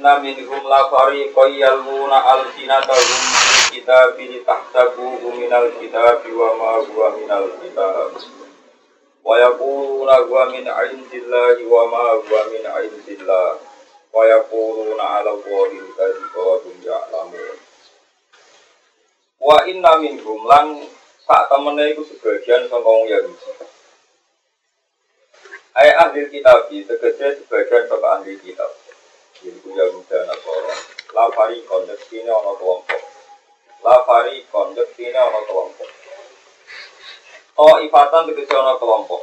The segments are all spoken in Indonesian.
inna minhum la fariqan yalmuna alsinatahum bil kitabi litahsabuhu minal kitabi wa ma huwa minal kitab wa yaquluna huwa min 'indillahi wa ma huwa min 'indillah wa yaquluna 'ala Allahi al-kadhiba wa hum ya'lamun. Wa inna minhum lan sak temene iku sebagian saka wong Yahudi. Ai ahli kitab tegese sebagian saka ahli kitab. Yaiku Yahudi Nasara. La fariqon yektine ana kelompok. La fariqon yektine ana kelompok. Ifatan tegese ana kelompok.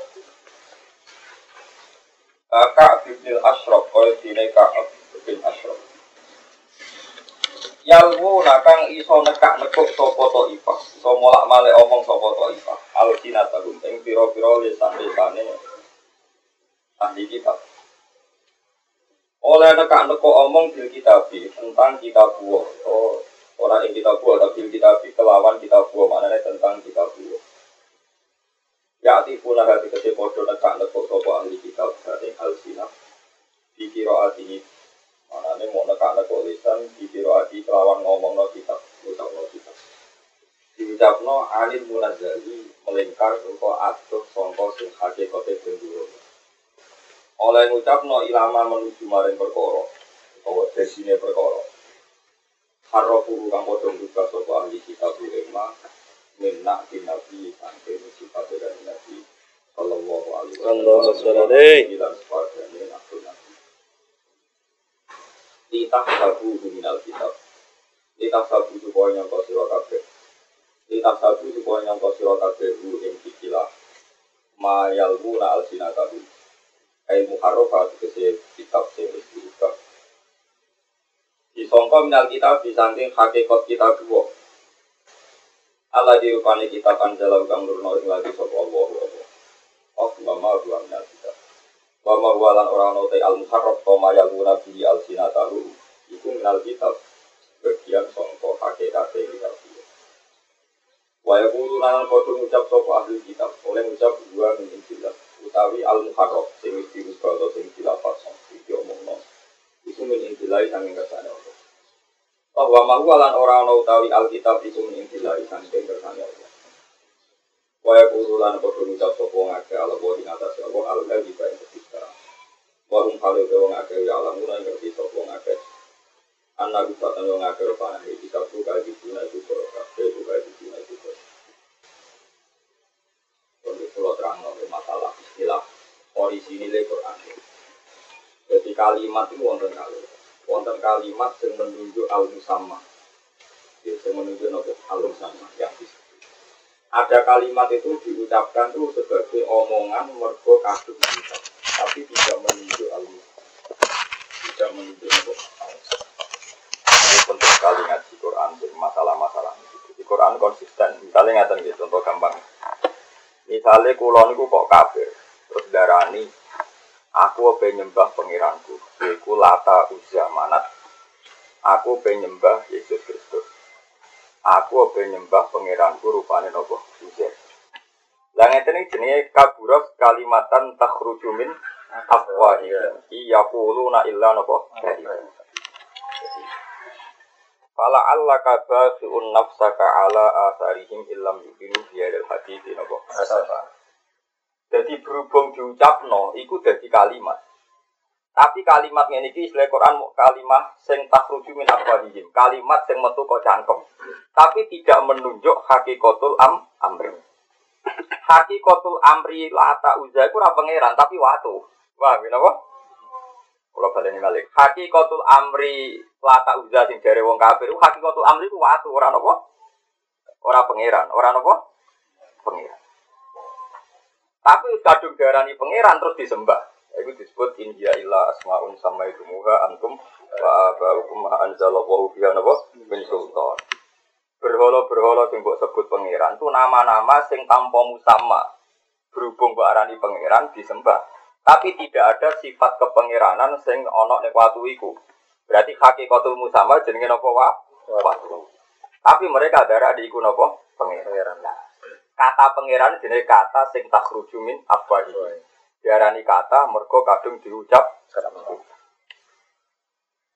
Ka'ab bin Ashraf kaya dene Ka'ab bin Ashraf. Yalwu nakang iso nekak-nekuk sapa Taifah, iso molak-malik omong sapa Taifah. Al-Sinatahum ing pira-pira lisan-lisane ahli kitab. Oleh nekak-nekuk omong bil kitabi tentang kitabullah. Ora ing kitabullah tapi bil kitabi kelawan kitabullah, maknane tentang kitabullah. Ya tifuna hati kese padha nekak-nekuk sapa ahli kitab ing al-sinah. Dikiraati manane mau nekak-nekuk lisan dikiraati kelawan ngomongno kitab, ucapno kitab. Diucapno anil munazzali melingkar rupa atuh sangka sing hakikate benduro. Oleh ngucapno ilama menuju maring perkara utawa desine perkara. Harrofu kang padha buka sapa ahli kitab ulama minna nabi sampai sifat dari nabi sallallahu alaihi wasallam. Litah sabu minal kitab. Litah sabu supaya nyangka sira kabeh. Litah sabu supaya nyangka sira kabeh ing ikilah mayalmuna alsinatahu. Ai muharrafat kese kitab sing wis diubah. Disangka minal kitab disangking hakikat kitab dua. Allah dirupani kitab anjala kang nurno ing lagi sapa Allah. Mama dua minal kitab. Wama walan orang note al-muharraf koma yaluna bi al-sinatahu iku minal kitab bagian sangka hakikat kitab. Wa yaqulu lan padha ngucap sapa ahli kitab oleh ngucap dua min injil utawi al-muharraf sing wis diubah atau sing dilafaz iki omongno iku min injil sanging kersane Allah. Wa ma walan orang utawi al-kitab iku min injil sanging kersane Allah. Wa yaqulu lan padha ngucap sapa ngake ala wa ing atas Allah al-ladzi bae warung kali wong akeh ya alam ora ngerti sapa wong akeh. Ana gutatan wong akeh rupane iki kabeh kae dina iku kabeh kae dina iku. Untuk pulau terang masalah istilah orisinile Quran. Jadi kalimat itu wonten kalimat yang menunjuk al-musamma. Yang menunjuk al-musamma yang disebut. Ada kalimat itu diucapkan itu sebagai omongan mergo kadung kita. Tapi tidak menunjuk tidak menunjuk ini penting sekali ngaji Quran dari masalah-masalah ini. Di Quran konsisten. Misalnya ngatakan gitu, contoh gampang. Misalnya kulon itu kok kafir, terus darani aku penyembah pengiranku, yaitu Lata Uzza Manat. Aku penyembah Yesus Kristus. Aku penyembah pengiranku rupane nopo Uzza. Lah ngeten iki jenenge kaburas kalimatan takhruju min afwahihim yaquluna illa napa fala allaka basi'un nafsaka ala atharihim illam yuqinu bi'al hadithi napa asafa. Jadi berhubung diucapno iku dadi kalimat. Tapi kalimat ngene iki istilah Quran kalimat sing takhruju min afwahihim, kalimat sing metu kok cangkem. Tapi tidak menunjuk hakikatul amri. Hakikatul amri Lata Uzza iku ora pangeran tapi watu. Wah, kenapa? Kula baleni malih. Hakikatul amri Lata Uzza sing jare wong kafir, hakikatul amri ku watu, ora napa? Ora pangeran, ora napa? Pangeran. Tapi kadung darani pangeran terus disembah. Iku disebut inja illa asmaun samaitumuha antum wa ba'ukum anzalallahu biha napa? Min sultan. Berhala-berhala sing mbok sebut pangeran itu nama-nama sing tanpa musamma. Berhubung mbok arani pangeran disembah. Tapi tidak ada sifat kepangeranan sing ana ning watu iku. Berarti hakikatul musamma jenenge napa watu. Tapi mereka darah di iku napa pangeran. Kata pangeran jenenge kata sing takhruju min afwahi. Diarani kata mergo kadung diucap.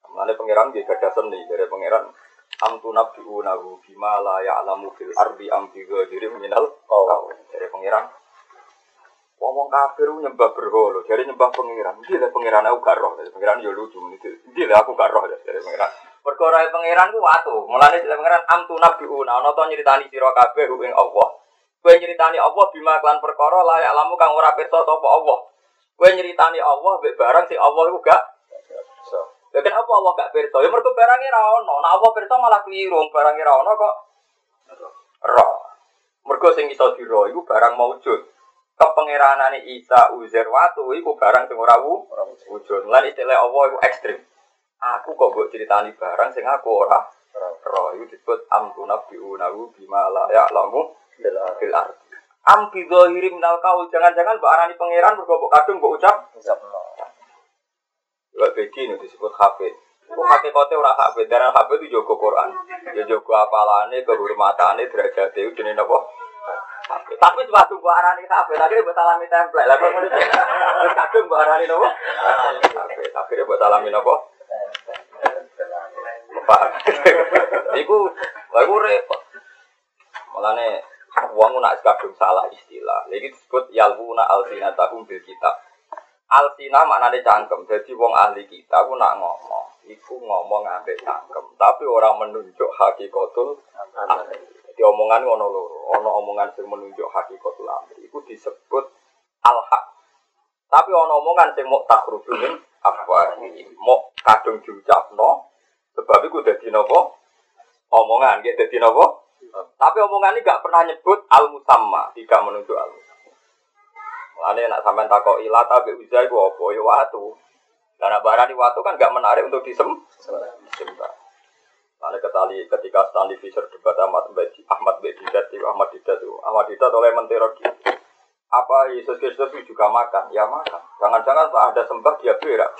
Mulane pangeran nggih gadah seni dari pangeran am tunabbi'unahu bima la ya'lamu fil ardi am bi ghairin minal qaul. Dari pangeran wong kafir nyembah berhala, dari nyembah pangeran. Iki lho pangeran aku gak roh, dari pangeran yo lucu niku. Iki lho aku gak roh dari pangeran. Perkara pangeran ku watu. Mulane dari pangeran am tunabbi'una ana to nyritani sira kabeh ing Allah. Kowe nyritani Allah bima klan perkara la ya'lamu kang ora pirsa sapa Allah. Kowe nyritani Allah mbek barang sing Allah iku gak pirsa. Ya kenapa Allah gak pirsa? Ya mergo barange ra ono. Nek Allah pirsa malah kliru, barange ra ono kok roh. Mergo sing iso dira iku barang maujud. Kepengeranane Isa Uzair watu iku barang sing ora wujud. Lan istilah Allah iku ekstrim. Aku kok mbok critani barang sing aku ora roh. Iku disebut amtuna bi'unahu bima la ya'lamu fil ardi. Am bi dhahiri minal qaul, jangan-jangan mbok arani pangeran mergo mbok kadung mbok ucap. Lha iki nek disebut hafid. Kok hakikate ora hafid, darah hafid itu jaga Quran. Ya jaga apalane, kehormatane, derajate itu jenenge napa? Hafid. Tapi suatu mbok arani hafid, akhire mbok salami template. Lah kok ngono. Terus kadung mbok arani napa? Hafid. Akhire mbok salami napa? Paham. Iku repot. Mulane wong nak kadung salah istilah. Iki disebut yalwuna alsinatahum bil kitab. Alsina maknane cangkem. Jadi wong ahli kita ku nak ngomong, iku ngomong ambek cangkem, tapi orang menunjuk hakikatul amri. Jadi omongan ngono loro. Ana omongan sing menunjuk hakikatul amri iku disebut al-haq. Tapi ana omongan sing mok takrubun apa iki? Mok kadung diucapno sebab iku dadi napa? Omongan nggih dadi napa? Tapi omongan ini gak pernah nyebut al-musamma, tidak menunjuk al-musamma. Mulane nek sampean takoki lata be uza iku apa ya watu. Lah nek barani watu kan gak menarik untuk disembah. Mulane ketika Stanley Fischer debat Ahmad Didat oleh menteri apa Yesus Kristus itu juga makan? Ya makan. Jangan-jangan Pak ada sembah dia berak.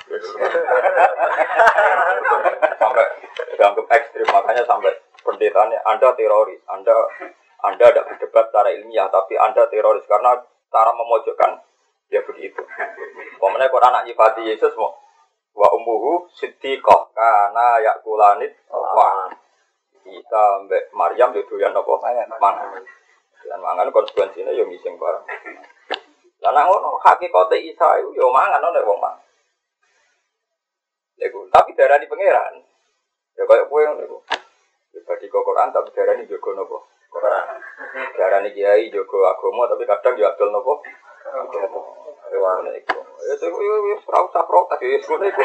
Sampai dianggap ekstrim, makanya sampai pendetanya Anda teroris, Anda tidak berdebat secara ilmiah, tapi Anda teroris karena cara memojokkan ya begitu. Pemenang Quran anak nyifati Yesus mau wa ummuhu siddiqah kana yakulanit wa kita mbek Maryam itu yang apa mangan. Dan mangan konsekuensinya yo ngising bareng. Lah nek ngono hakikate Isa iku yo mangan nek wong mangan. Lego tapi darani pangeran. Ya koyo kowe ngono iku. Dibagi Quran tapi darani jaga napa? Quran. Darani kiai jaga agama tapi kadang yo adol napa? Agama iku. Ya wis ora usah protes ya ngono iku.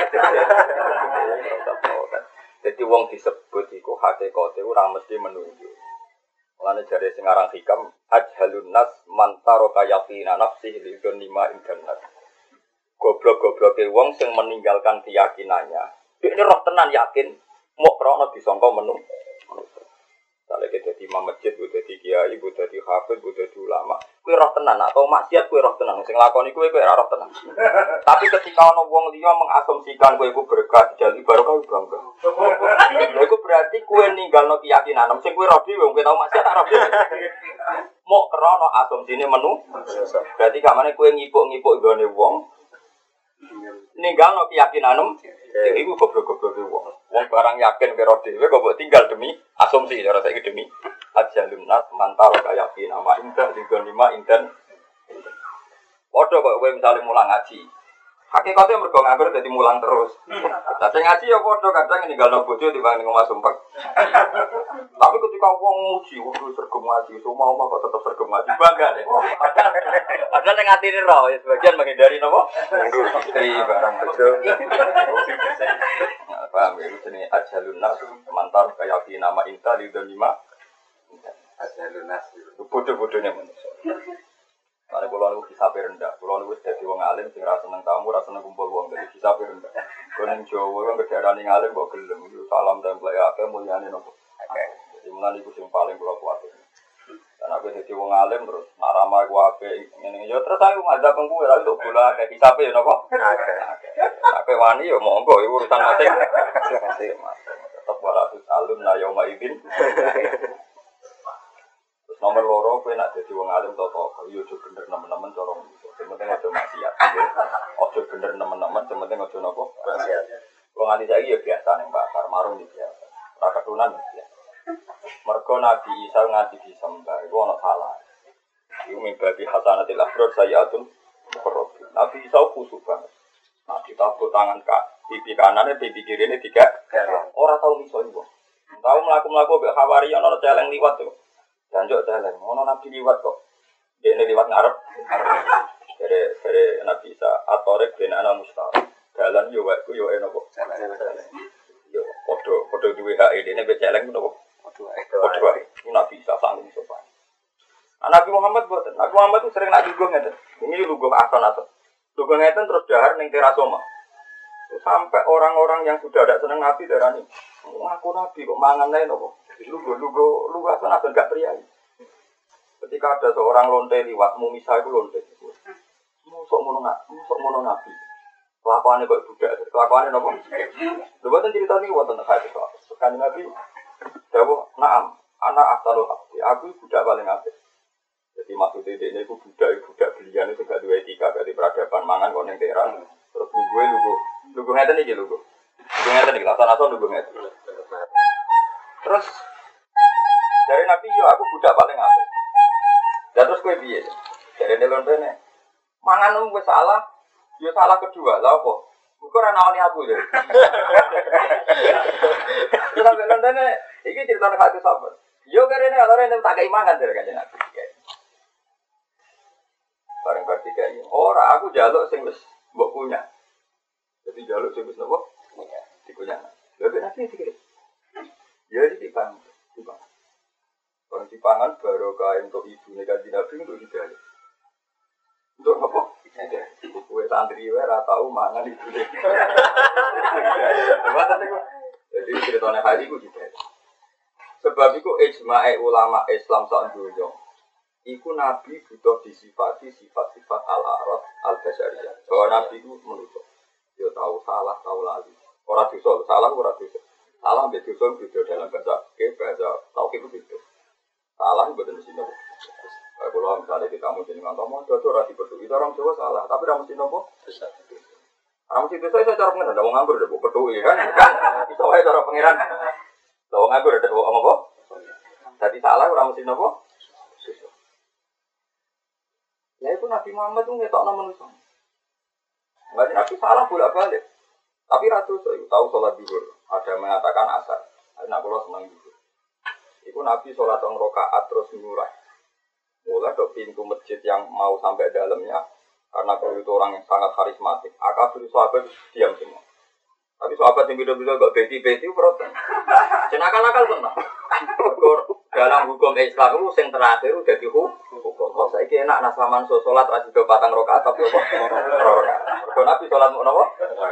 Jadi wong disebut iku hakikate ora mesti menunjuk. Mulane jare sing aran hikam ajhalun nas mantaro kayafina nafsi lidun lima internet. Goblok-gobloke wong sing meninggalkan keyakinannya. Ini roh tenan yakin mau krono disangka menung. Sale ke dadi imam masjid, ku dadi kiai, ku dadi hafid, ku dadi ulama. Kuwi roh tenan atau maksiat kuwi roh tenan. Sing lakoni kuwi ora roh tenan. Tapi ketika ana wong liya mengasumsikan kowe iku berkah jadi barokah bangga. Lha iku berarti kowe ninggalno keyakinan. Sing kowe roh dhewe wong tau maksiat tak roh dhewe. Mok krana asumsine menu. Berarti kamane kowe ngipuk-ngipuk gone wong. Ninggalno keyakinan. Iku goblok-goblok wong. Wong barang yakin karo dhewe kok mbok tinggal demi asumsi cara saiki demi ajalun nas mantar kaya nama indah digon lima inten. Padha kok kowe misale mulang ngaji. Hakikate mergo nganggur dadi mulang terus. Lah sing ngaji ya padha kadang ninggalno bojo timbang ning omah sumpek. Tapi ketika wong muji, kudu sergem ngaji, semua omah kok tetep sergem ngaji bangga deh. Padahal ning atine ro ya sebagian menghindari napa? Istri barang bojo. Paham ya, ini ajalun nas mantar kaya nama inta lidon lima ajalun nas bodoh-bodohnya manusia. Karena kalau niku hisabe rendah, kalau niku dadi wong alim sing ra seneng tamu, ra seneng kumpul wong, dadi hisabe rendah. Kono Jawa wong kedarane alim kok gelem, salam tempel ya akeh mulyane nopo. Jadi mulane iku sing paling kula kuwatir. Dan aku dadi wong alim terus nak ramah ku apik ngene ya terus aku ngajak kowe lha untuk bola kayak hisabe ya napa? Akeh wani ya monggo iku urusan mate. Tetep walaupun alum la yauma idin. Nomor loro kowe nak dadi wong alim toto yo aja bener nemen-nemen cara ngono. Sementing aja maksiat. Aja bener nemen-nemen, sementing aja napa? Maksiat. Kalau nganti saya ya biasa nih bakar marung di biasa. Raka tunan ya. Mergo Nabi Isa ngaji disembah, itu ono salah. Iku mimbabi hasanatil afrod sayyatun mukarrabin. Nabi Isa kusuk banget. Nah ditabuk tangan pipi kanannya, pipi kirinya tiga. Orang tahu miso itu. Tahu melaku-melaku be khawari ono celeng liwat tuh. Janjok celeng, ono Nabi liwat kok. Dia ini liwat ngarep. Dari Nabi Isa atorek ben ana mustahil. Dalan yo wae yo enopo. Yo podo duwe hak ini be celeng nopo. Podo wae. Nabi Isa sanggup sopan. Nabi Muhammad buatan. Nabi Muhammad itu sering nak lugu ngeten. Ini lugu ason-ason. Lugu ngeten terus dahar ning terasoma. Sampai orang-orang yang sudah ada seneng Nabi darani. Ngaku Nabi kok mangan lain nopo. Lugu ason-ason gak priayi. Ketika ada seorang lonte liwat, Mumisa itu lonte. Musok mono Nabi. Kelakuannya kok budak. Kelakuannya nopo. Luwatan cerita ini buatan hadis. Sekali Nabi jawab, "Na'am, anak asalul haqi. Aku budak paling apik." Jadi maksudnya ini aku budak belian itu gak dua etika, gak di peradaban mangan kok neng teran. Terus lugu ngeten iki lugu ngeten iki lasan-lasan lugu ngeten. Terus dari Nabi yo aku budak paling apik. Dan terus kowe piye? Dari nelon-nelon mangan wis salah, yo salah kedua. Lah apa? Iku ora nawani aku lho. Terus nelon-nelon iki ceritane hati sahabat. Yo karene ora tak kei mangan dari kanjeng Nabi. Bareng ketiga ini, ora aku jaluk sing wis mbok punya. Jadi jaluk sing wis napa? Punya. Dikunya. Lha nanti dikira. Ya dipang. Kalau dipangan baru kain untuk ibu kanjeng Nabi untuk dijaluk. Untuk apa? Kue santri wae ora tau mangan ibu. Jadi ceritane hari iku dijaluk. Sebab iku ijma'e ulama Islam sak donya. Iku Nabi butuh disifati sifat-sifat al-arad al-basyariyah. Bahwa Nabi itu menurut dia tahu salah, tahu lali. Orang dosa, salah orang dosa. Salah ambil dosa itu dalam bahasa tauhid itu beda. Salah itu betul mesti nopo. Kalau misalnya kita mau jadi ngomong, itu orang diperduki. Itu orang Jawa salah, tapi orang mesti nopo. Orang mesti dosa saya cara pengiran. Ada orang nganggur, ada orang peduli kan. Itu saya cara pengiran. Ada orang nganggur, ada orang apa? Jadi salah orang mesti nopo. Ya itu Nabi Muhammad itu ngetok nama manusia. Enggak Nabi salah bolak-balik. Tapi ratu tahu sholat zuhur. Ada yang mengatakan asar. Karena kalau senang zuhur. Itu Nabi sholat rakaat terus nyurah. Mulai dari pintu masjid yang mau sampai dalamnya. Karena beliau itu orang yang sangat karismatik. Akabir sahabat diam semua. Tapi sahabat yang beda-beda gak beti-beti protes. Cenakal-nakal tenang. Dalam hukum Islam itu yang terakhir udah dihukum. Kalau saya enak nasaman sholat rajin do patang rakaat tapi apa? Rakaat. Kalau Nabi sholat mau apa?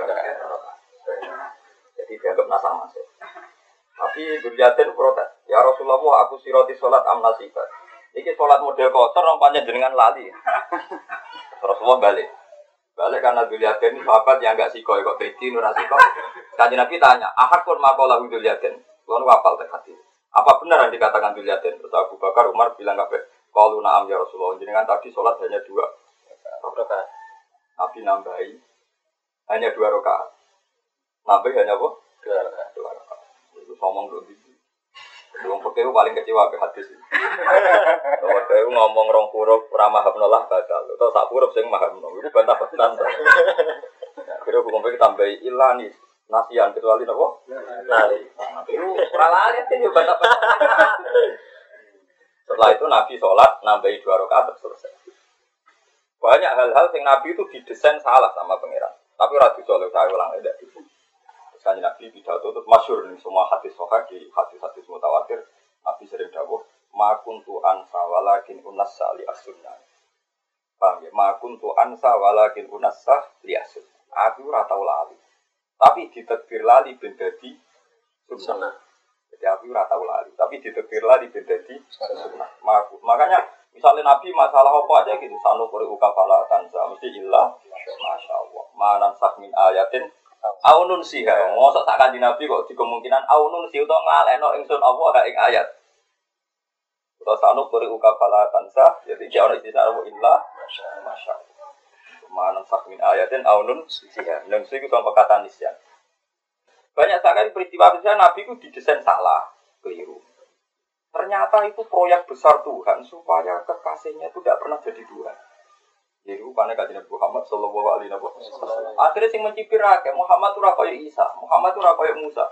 Jadi dianggap nasaman. Tapi Gurjatin protes. Ya Rasulullah, aku siroti sholat amnasibat. Ini sholat model kotor, nampaknya jenengan lali. Rasulullah balik karena Gurjatin ini sahabat yang enggak sikoy kok beti nurah sikoy. Kanjeng Nabi tanya, ahad pun makola Gurjatin. Lalu wafal terhati. Apa benar yang dikatakan Gurjatin? Terus Abu Bakar, Umar bilang kabeh. Kalau na'am ya Rasulullah, jenengan tadi sholat hanya 2 rakaat. Nabi nambahi hanya 2 rakaat. Nambahi hanya apa? 2 rakaat. Itu ngomong dulu. Wong fakih paling kecewa ke hadis. Wong fakih ngomong rong huruf ora maham nolah batal. Atau sak huruf sing maham no. Itu bantah-bantahan. Kira hukum fakih tambahi ilani nasian kecuali napa? Lali. Itu ora lali sing bantah-bantahan. Setelah itu Nabi sholat, nambahi 2 rakaat selesai. Banyak hal-hal yang Nabi itu didesain salah sama pangeran. Tapi radhi soleh saya ulang tidak. Sekali Nabi pidato itu masyhur nih semua hadis sahih di hadis-hadis mutawatir. Nabi sering dawuh, "Ma kuntu ansa walakin unassa li as-sunnah." Paham ya? "Ma kuntu ansa walakin unassa li as-sunnah." Aku ora tau lali. Tapi ditakdir lali ben dadi sunnah. Jadi aku ora tau lali, tapi ditekir lali ben dadi sunnah. Makanya misalnya Nabi masalah apa aja gitu, sanu qori ukafala tanza mesti illah masyaallah. Manan sakmin ayatin aunun siha. Mosok tak kanjeng Nabi kok di kemungkinan aunun siha utawa ngaleno ingsun apa gak ing ayat. Utawa sanu qori ukafala tanza, jadi jangan istilah illah masyaallah. Manan sakmin ayatin aunun siha. Nang siku tanpa kata nisyan. Banyak sekali peristiwa Nabi itu didesain salah, keliru. Ternyata itu proyek besar Tuhan supaya kekasihnya itu tidak pernah jadi Tuhan. Jadi rupanya kajian Muhammad Sallallahu Alaihi Wasallam. Akhirnya sing mencibir akeh Muhammad itu rakyat Isa, Muhammad itu rakyat Musa.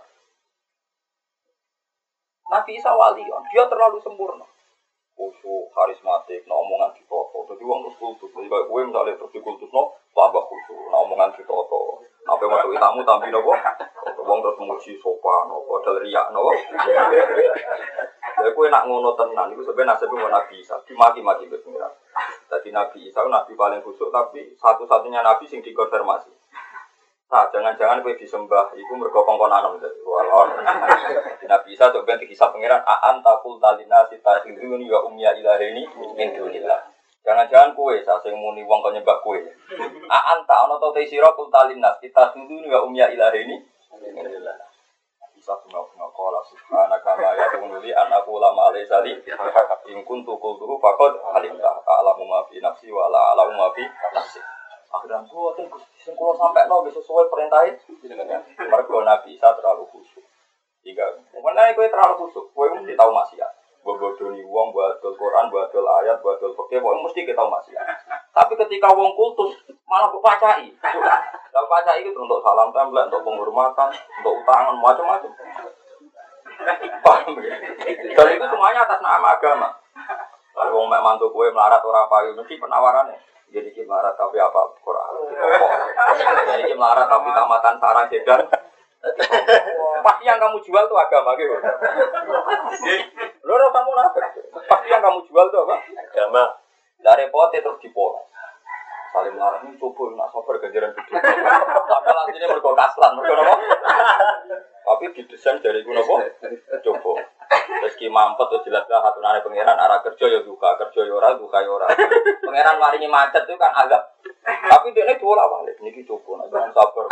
Nabi Isa wali, dia terlalu sempurna. Khusyuk, karismatik, omongan ditoto. Jadi orang terus kultus. Jadi kayak gue misalnya terus dikultus, tambah khusyuk, omongan ditoto. Apa yang masuk tamu tampil nopo? Orang terus memuji sopan, modal riak nopo. Jadi gue nak ngono tenan, itu sebenarnya nasibnya Nabi Isa. Dimaki-maki berpengiran. Jadi Nabi Isa Nabi paling khusyuk, tapi satu-satunya Nabi yang dikonfirmasi. Nah, jangan-jangan gue disembah, itu mergo kongkon anom jadi walon. Nabi Isa coba dihisab pengiran, aan takul talina sita hiduni wa umya ilahini min dunillah. Jangan-jangan kue sing muni wong kok nyembah kue. Aan ta ana ta sira kul talina sita hiduni wa umya ilahini min dunillah. Isa bunga-bunga qala subhanaka ma yakunu li an aqula ma laysa li in kuntu qultuhu faqad alimta ta'lamu ma fi nafsi wa la a'lamu ma fi nafsi. Akhirnya buatin sing kula sampekno wis sesuai perintahe jenengan. Mergo Nabi Isa terlalu khusyuk. Tiga. Menawa kowe terlalu khusyuk, kowe mesti tau maksiat. Bodoni wong, badol Quran, badol ayat, badol fikih, kowe mesti kita maksiat. Tapi ketika wong kultus malah kok pacai. Lah pacai itu untuk salam template, untuk penghormatan, untuk utangan macam-macam. Paham ya? Dan itu semuanya atas nama agama. Kalau wong mek mantu kowe melarat ora payu mesti penawarannya. Jadi kita marah tapi apa Quran? Jadi kita marah tapi tamatan sarang sedan. Pasti yang kamu jual itu agama gitu. Loro kamu nafas. Pasti yang kamu jual itu apa? Agama. Dari pote terus dipola. Saling marah ini coba nak sabar ganjaran gede. Padahal aslinya mergo kaslan, mergo apa? Tapi didesain dari guna apa? Coba. Meski mampet tuh jelaslah hatunane pangeran arah kerja ya duka ya ora duka ya ora. Pangeran maringi macet itu kan agak. Tapi dia ini bola balik niki coba jangan sabar.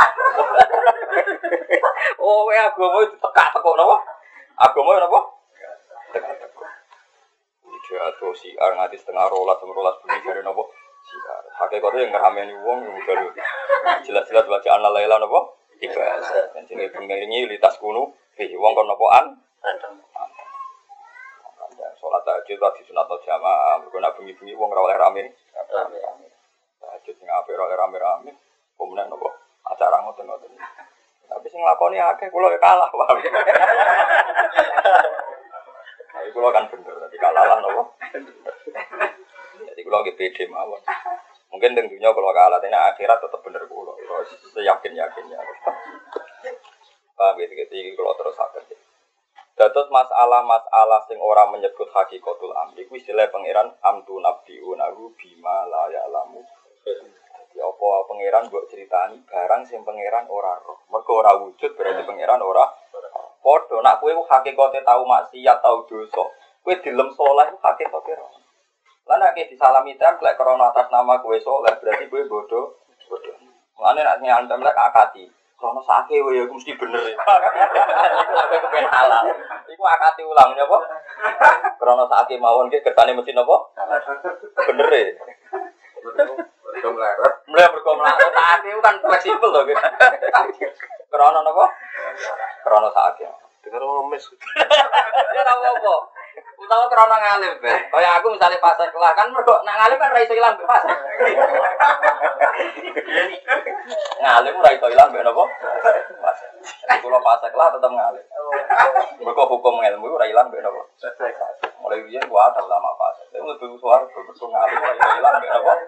Oh ya agama itu tekak-tekok napa? Agama napa? Tekak-tekok. Iki atau si ngati setengah rolas bunyi dari napa? Siar. Hakikate yang ngerameni wong udah jelas-jelas bacaan Laila napa? Ibadah. Dan jenenge pengiringi litas kuno, wong kon napoan? Sholat tahajud lagi sunat jamaah, berguna bengi-bengi wong ora oleh rame. Tahajud sing apik ora oleh rame-rame. Kemudian nopo acara ngoten-ngoten. Tapi sing nglakoni akeh kula ya kalah, Pak. Tapi kula kan bener, tapi kalah lah nopo. Jadi kula nggih pede mawon. Mungkin teng dunya kula kalah, tapi akhirat tetep bener kula. Seyakin-yakinnya. Paham gitu, kula terus sakit. Dados masalah-masalah sing ora menyebut hakikatul amri kuwi istilah pangeran amtu nabiunahu bima la ya'lamu. Dadi apa pangeran mbok critani barang sing pangeran ora roh. Mergo ora wujud berarti pangeran ora padha. Nek kowe hakikate tau maksiat tau dosa, kowe dilem saleh hakikate roh. Lah nek disalami templek krana atas nama kowe saleh berarti kowe bodoh. Mulane nek nyantem lek akati krono sake wae iku mesti bener ya. Iku ape kepen halal. Iku akati ulang nyapa? Krono sake mawon ki kersane mesti napa? Bener e. Mergo melarat. Mergo melarat sake kan fleksibel to gitu. Krono napa? Krono sake. Dengar ngemis. Ya ora apa-apa. Utawa krono ngalim, Ben. Kaya aku misalnya pas kelah kan mergo nak ngalim kan ra iso ilang pas. Ngalim ora iso ilang mbek napa? Pas. Kula pas kelah tetep ngalim. Mergo hukum ilmu ora ilang mbek napa? Mulai riyen gua ada ulama pas. Saya mlebu swarga mergo ngalim ora iso ilang mbek napa?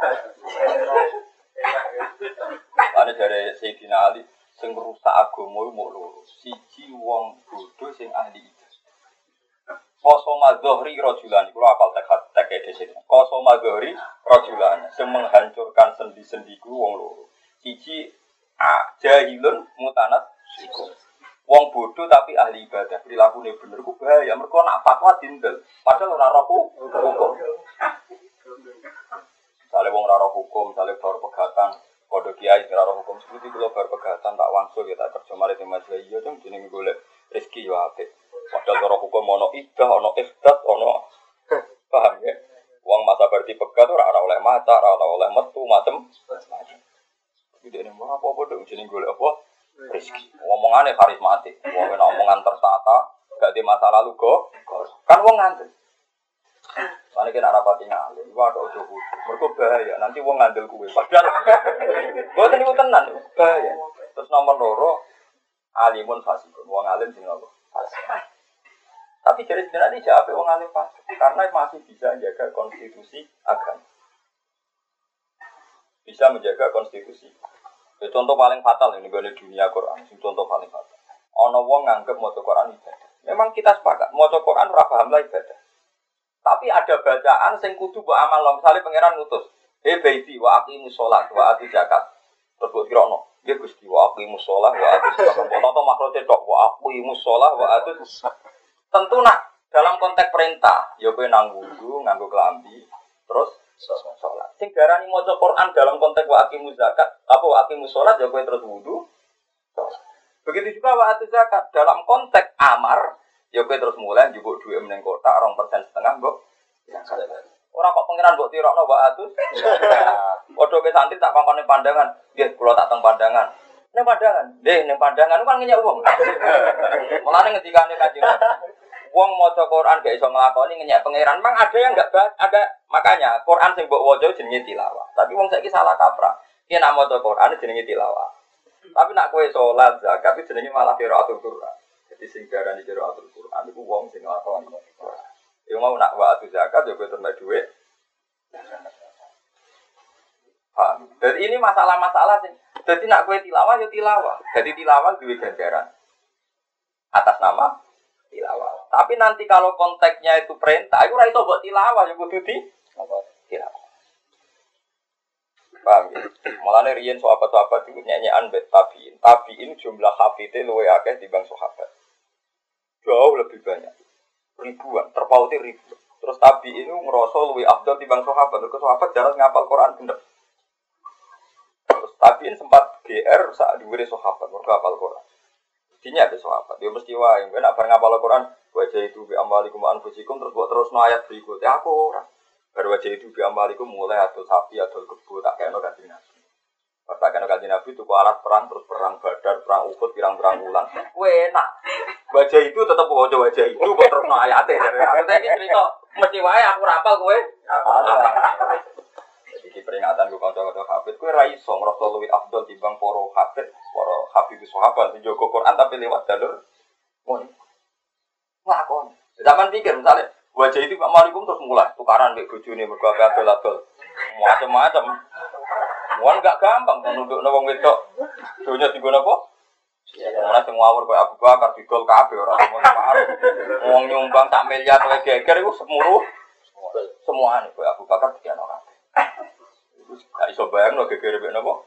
Ana jare Sayyidina Ali sing rusak agama mok loro. Siji wong bodho sing ahli Qasama Zuhri rajulan, kalau apal tek di sini. Qasama Zuhri rajulan, yang menghancurkan sendi-sendiku wong loro. Siji jahilun mutanat siku. Wong bodoh tapi ahli ibadah, perilakunya bener ku bahaya. Mereka nak fatwa dindel, padahal ora roh hukum. Misalnya wong ora roh hukum, misalnya baru pegatan, kode kiai ora roh hukum, seperti kalau baru pegatan tak wangsul kita kerja mari di majelis iya dong jenenge golek rezeki yo apik. Padahal cara hukum ono idah, ono iftat, ono paham ya? Uang masa berarti pegat ora oleh maca, ora oleh metu macam. Iki dene mau apa-apa dong jeneng golek apa? Rezeki. Ngomong Omongannya karismatik. Wong omongan tertata, gak di masa lalu kok. Kan wong ngandel. Mane kena rapati ngalim. Iku ada ojo kudu. Mergo bahaya. Nanti wong ngandel kuwe. Padahal mboten niku tenan. Bahaya. Terus nomor loro alimun fasikun. Wong alim sing nopo? Fasik. Tapi dari sebenarnya siapa wong alim fasik? Karena masih bisa menjaga konstitusi agama. Bisa menjaga konstitusi. Itu contoh paling fatal ini di dunia Quran. Contoh paling fatal. Ono wong nganggep maca Quran ibadah. Memang kita sepakat maca Quran ora paham lah ibadah. Tapi ada bacaan sing kudu mbok amal lo. Misale pangeran ngutus, "He baiti wa aqimus shalah wa atu zakat." Terus mbok kirono, "Ya Gusti wa aqimus shalah wa atu zakat." Foto makrote tok wa aqimus shalah wa atu. Tentu nak dalam konteks perintah, ya kowe nang wudu, nganggo klambi, terus sholat. Sing darani maca Quran dalam konteks wa aqimuz zakat, apa wa aqimus shalah ya kowe terus wudu. Begitu juga wa atu zakat dalam konteks amar, ya kowe terus mulai njupuk dhuwit meneng kotak 2,5% mbok. Ora kok pangeran mbok tirokno wa atu. Padha ke santri tak kongkone pandangan, nggih kula tak teng pandangan. Ning pandangan, nggih ning pandangan kan ngenyek wong. Mulane ngendikane Kanjeng wong maca Quran gak iso nglakoni ngenyek pangeran. Memang ada yang enggak ada makanya Quran sing mbok waca jenenge tilawah. Tapi wong saiki salah kaprah. Ki nek maca Quran jenenge tilawah. Tapi nak kowe salat zakat itu jenenge malah qiraatul Quran. Jadi sing diarani qiraatul Quran iku wong sing nglakoni. Ya mau nak wa zakat ya kowe terima dhuwit. Paham. Dan ini masalah-masalah sing dadi nak kowe tilawah ya tilawah. Jadi tilawah duwe ganjaran atas nama tilawah. Tapi nanti kalau konteksnya itu perintah, itu ora iso mbok tilawah ya kudu tilawah. Paham ya? Mulane riyen sahabat-sahabat iku nyanyian mbek tabiin. Tabiin jumlah hafite luwih akeh timbang sahabat. Jauh lebih banyak. Ribuan, terpauti ribuan. Terus tabiin itu ngerasa luwih afdal timbang sahabat. Terus sahabat jarang ngapal Quran bener. Terus tabiin sempat GR saat dhuwure sahabat mergo hafal Quran. Dinya ada sahabat. Dia mesti wae nek bar ngapal Quran wajah itu bi amalikum anfusikum terus buat terus no ayat berikutnya aku ora. Baru wajah itu bi amalikum mulai atau sapi atau kebo tak kena Kanjeng Nabi. Tak kena Kanjeng Nabi itu alat perang terus perang Badar, perang Uhud, pirang-pirang wulan. Kuwi enak. Wajah itu tetep wajah itu buat terus no ayate. Aku iki cerita mesti wae aku rapal kowe. Iki peringatan gue kanca-kanca hafid kowe ra iso ngrasa luwih afdal timbang para hafid, para hafiz sahabat sing jaga Quran tapi lewat jalur ngono. Lakon. Zaman pikir misalnya wajah itu Pak Malikum terus mulai tukaran mbek bojone mergo adol-adol. Macam-macam. Wong enggak gampang nundukno wong wedok. Donya digo napa? Ora sing ngawur koyo Abu Bakar didol kabeh ora ngono parah. Wong nyumbang sak miliar kowe geger iku semuruh semuane koyo Abu Bakar dikene ora. Iku gak iso bayangno geger mbek napa?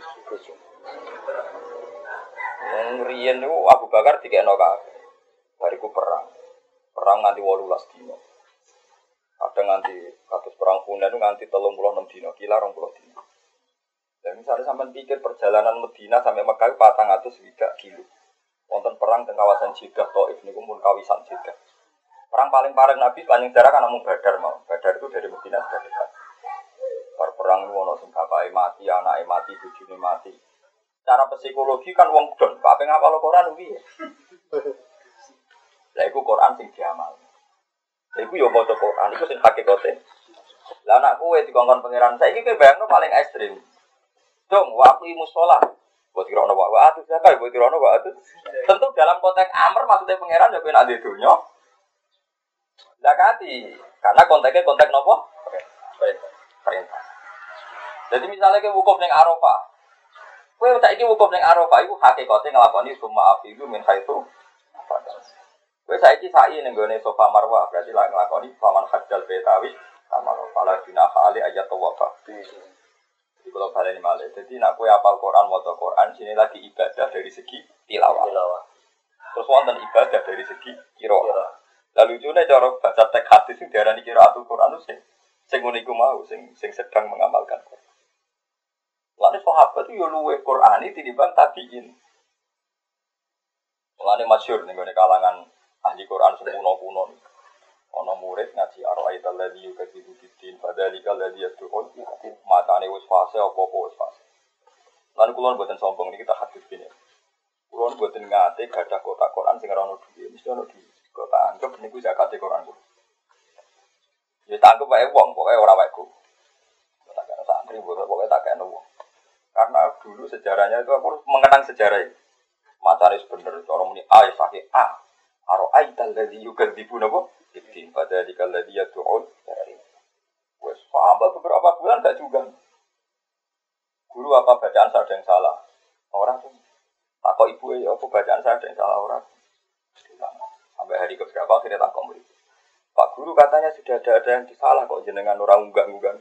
Wong riyen niku Abu Bakar dikene kabeh. Bariku perang nganti 18 dina. Kadang nganti kados perang Hunain itu nganti 36 dina, kila 20 dina. Dan misalnya sampean pikir perjalanan Madinah sampai Mekah 400 kilo. Wonten perang teng kawasan Jeddah Thaif niku mun kawasan Jeddah. Perang paling pareng Nabi paling jarak kan namung Badar mau. Badar itu dari Madinah sudah dekat. Perang itu ono sing bapake mati, anake mati, bojone mati. Cara psikologi kan wong don, kabeh ngapal Quran piye? Lah iku Quran sing diamal. Lah iku yo maca Quran iku sing hakikate. Lah anak kowe dikongkon pangeran saiki kowe bayangno paling ekstrim. Dong, waktu musola. Buat kira ono wa atu zakat, buat kira ono wa atu. Tentu dalam konteks amr maksudnya pangeran yo ben ade donya. Zakati, karena konteksnya konteks nopo? Perintah. Jadi misalnya kowe wukuf ning Arafah. Kowe saiki wukuf ning Arafah iku hakikate nglakoni summa afidu min haitsu. Kowe saiki sa'i ning gone Safa Marwah, berarti lak nglakoni faman hajjal betawi sama pala dina khali ayat tawafa. Jadi kalau baleni malih. Jadi nek kowe hafal Quran, maca Quran, sini lagi ibadah dari segi tilawah. Terus wonten ibadah dari segi qiraah. Lalu lucunya cara baca teks hadis sing diarani qiraatul Quran itu sing ngono iku mau sing sedang mengamalkan Quran. Lan sahabat itu yo luwih Qur'ani tinimbang tabiin. Lan masyhur ning kalangan ahli Quran kuno-kuno. Ana murid ngaji Ar-Ra'aital ladzi yukadzibu bid-din fadzalikal ladzi yad'un matane wis fase apa-apa wis fase. Lan kula mboten sombong niki tak hadis kene. Kulo mboten ngate gadah kotak Quran sing ora ono duwe, mesti ono duwe. Kok tak anggap niku zakate Quran kulo. Ya tak anggap wae wong, pokoke ora wae ku. Tak kena santri, pokoke tak kena wong. Karena dulu sejarahnya itu aku mengenang sejarah ini. Macane bener cara muni A ya sahih A. Aro aital ladzi yukadzibu napa? Ibtin pada dikal ladzi yad'un. Wes paham beberapa bulan gak juga. Guru apa bacaan saya ada yang salah? Orang tuh takut ibu ya apa bacaan saya ada yang salah orang. Sampai hari keberapa akhirnya tak komplain. Pak Guru katanya sudah ada yang salah kok jenengan orang unggang-unggang.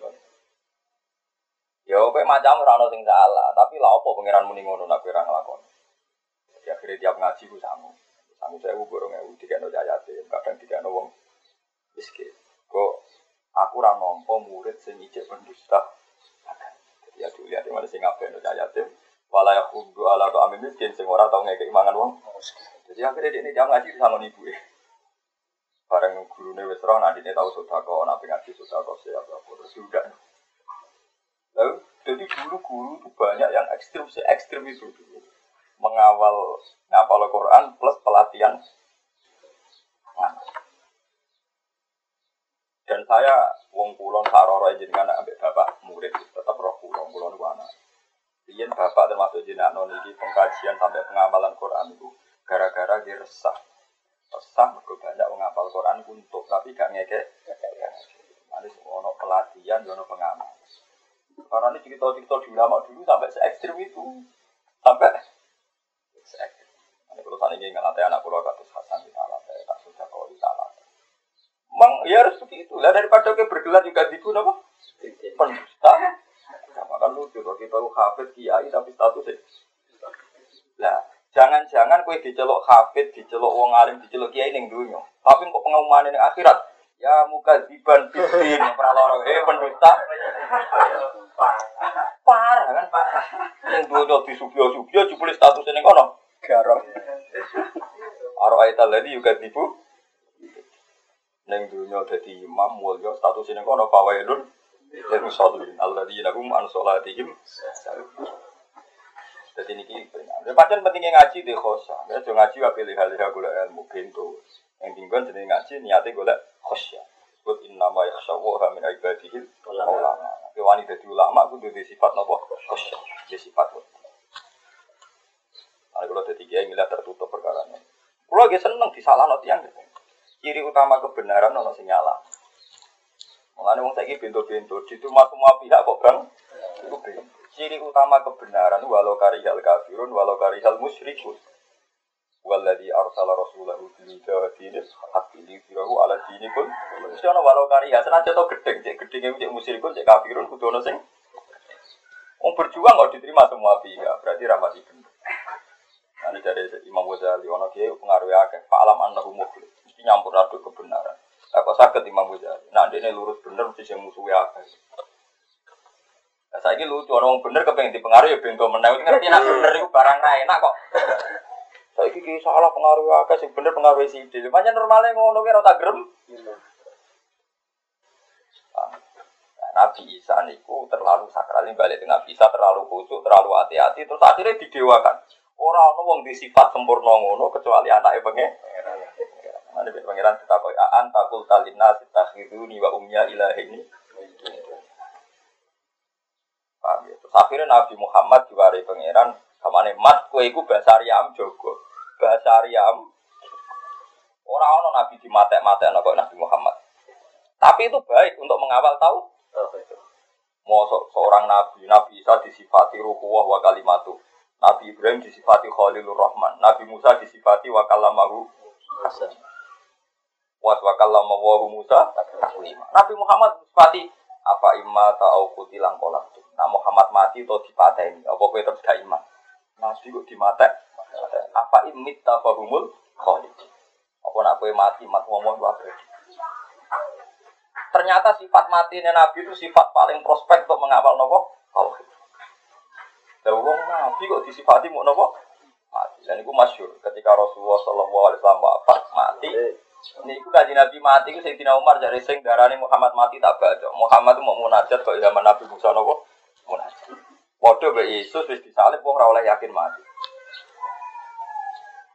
Ya oke macam ora sing salah, tapi lha apa pangeran muni ngono nak kira nglakoni. Ya akhirnya tiap ngaji ku sangu. Sangu saya borong ewu dikene ayate, kadang dikene wong miskin. Kok aku ora nampa murid sing ijek pendusta. Ya dilihat di mana sing ngapain ayate. Wala yakhuddu ala ta'amil miskin sing ora tau ngekeki mangan wong. Jadi akhirnya dia jam ngaji sangon ibu e. Bareng gurune wis ora nadine tau sedekah, nek ngaji sedekah siapa terus sudah. Lalu, jadi guru-guru itu banyak yang ekstrim itu dulu. Mengawal ngapal Quran plus pelatihan. Dan saya wong kulon saroro jenengan ambek bapak murid tetap roh kulon niku anak. Riyen bapak termasuk jenengan niki pengkajian sampai pengamalan Quran itu gara-gara dia resah. Resah mergo banyak menghafal Quran untuk tapi gak ngekek. Nanti ono pelatihan, ono pengamal. Karena ini cerita-cerita di ulama dulu sampai se-ekstrim itu. Sampai se-ekstrim. Ini kalau saat ini ngelatih anak pulau katus Hasan di salah, tak sudah kau di salah. Memang ya harus begitu. Lah daripada kita bergelar juga di apa? Pendusta. Makan lucu kalau kita lu hafid kiai tapi statusnya. Lah jangan-jangan kue dicelok hafid, dicelok wong alim, dicelok kiai ning dunya. Tapi kok pengumuman ning akhirat? Ya mukadziban bidin praloro pendusta. Parah kan parah. Ning dunya disubyo-subyo jebule statusnya ning kono. Garong. Aro aital ladi juga tipu. Ning dunya dadi imam mulya statusnya ning kono fawailun lil musallin alladzina hum an sholatihim sahun. Jadi ini peringatan. Padahal pentingnya ngaji deh khosa. Ya jangan ngaji wa pilih-pilih gula ilmu bento. Yang tinggal jadi ngaji niatnya gula khosya. Sebut innama yakhshawaha min ibadihil ulama. Tapi wanita jadi ulama itu ada sifat nopo khosya. Ada sifat. Nah kalau ada tiga yang milah tertutup perkaranya. Kalau lagi seneng disalah nanti yang ciri utama kebenaran nono sinyala. Mengenai wong saiki bento-bento di semua pihak kok bang itu bento. Ciri utama kebenaran walau karihal kafirun walau karihal musyrikun. Walladzi arsala rasulahu bil huda dinil haqqi liyudhhirahu ala dini kun. Mesti ana walau karihal senajan to gedeng, cek gedenge cek musyrikun, cek kafirun kudu ana sing wong berjuang kok diterima semua pihak, berarti ramati bener. Nah, dari Imam Ghazali ana kiye pengaruh akeh, fa'lam annahu mukhlis. Mesti nyampur aduk kebenaran. Kok saged Imam Ghazali. Nah, dene lurus bener mesti sing musuhe akeh. Saya ini lucu, orang bener kepengen dipengaruhi ya bento menang. Ngerti nak bener itu barang lain, enak kok. Saya ini salah pengaruh akeh, sing bener pengaruh si ide. Macam normalnya ngono kira tak gerem. Nabi Isa niku terlalu sakral, balik dengan Nabi Isa terlalu khusyuk, terlalu hati-hati, terus akhirnya didewakan. Orang wong di sifat sempurna ngono kecuali anaknya pangeran. Mana pangeran ditakoi aan takul talina sitakhiduni wa umya ilahi ini. Terus akhirnya Nabi Muhammad diwari pangeran kamane mat kowe iku bahasa Aryam jogo. Bahasa Aryam ora ono nabi dimatek-matekno kok Nabi Muhammad. Tapi itu baik untuk mengawal tahu. Mosok seorang nabi, Nabi Isa disifati ruhuwah wa kalimatu. Nabi Ibrahim disifati Khalilur Rahman, Nabi Musa disifati wa kalamahu hasan. Wa kallamahu Musa taklima. Nabi Muhammad disifati apa imma ta'au kutilang kolak. Nah Muhammad mati atau dipateni, apa kowe terus gak iman? Nabi kok dimatek? Apa imit tafahumul khalid? Apa nak kowe mati mat ngomong wae. Ternyata sifat matinya Nabi itu sifat paling prospek untuk mengawal nopo tauhid. Lah wong Nabi kok disifati mau nopo? Mati. Dan itu masyhur ketika Rasulullah sallallahu alaihi wasallam wafat mati. Niku kanjeng Nabi mati ku Sayyidina Umar jare sing darane Muhammad mati tak baca. Muhammad itu mau munajat kok zaman Nabi Musa nopo? Munajat. Padha mbek Yesus wis disalib wong ora oleh yakin mati.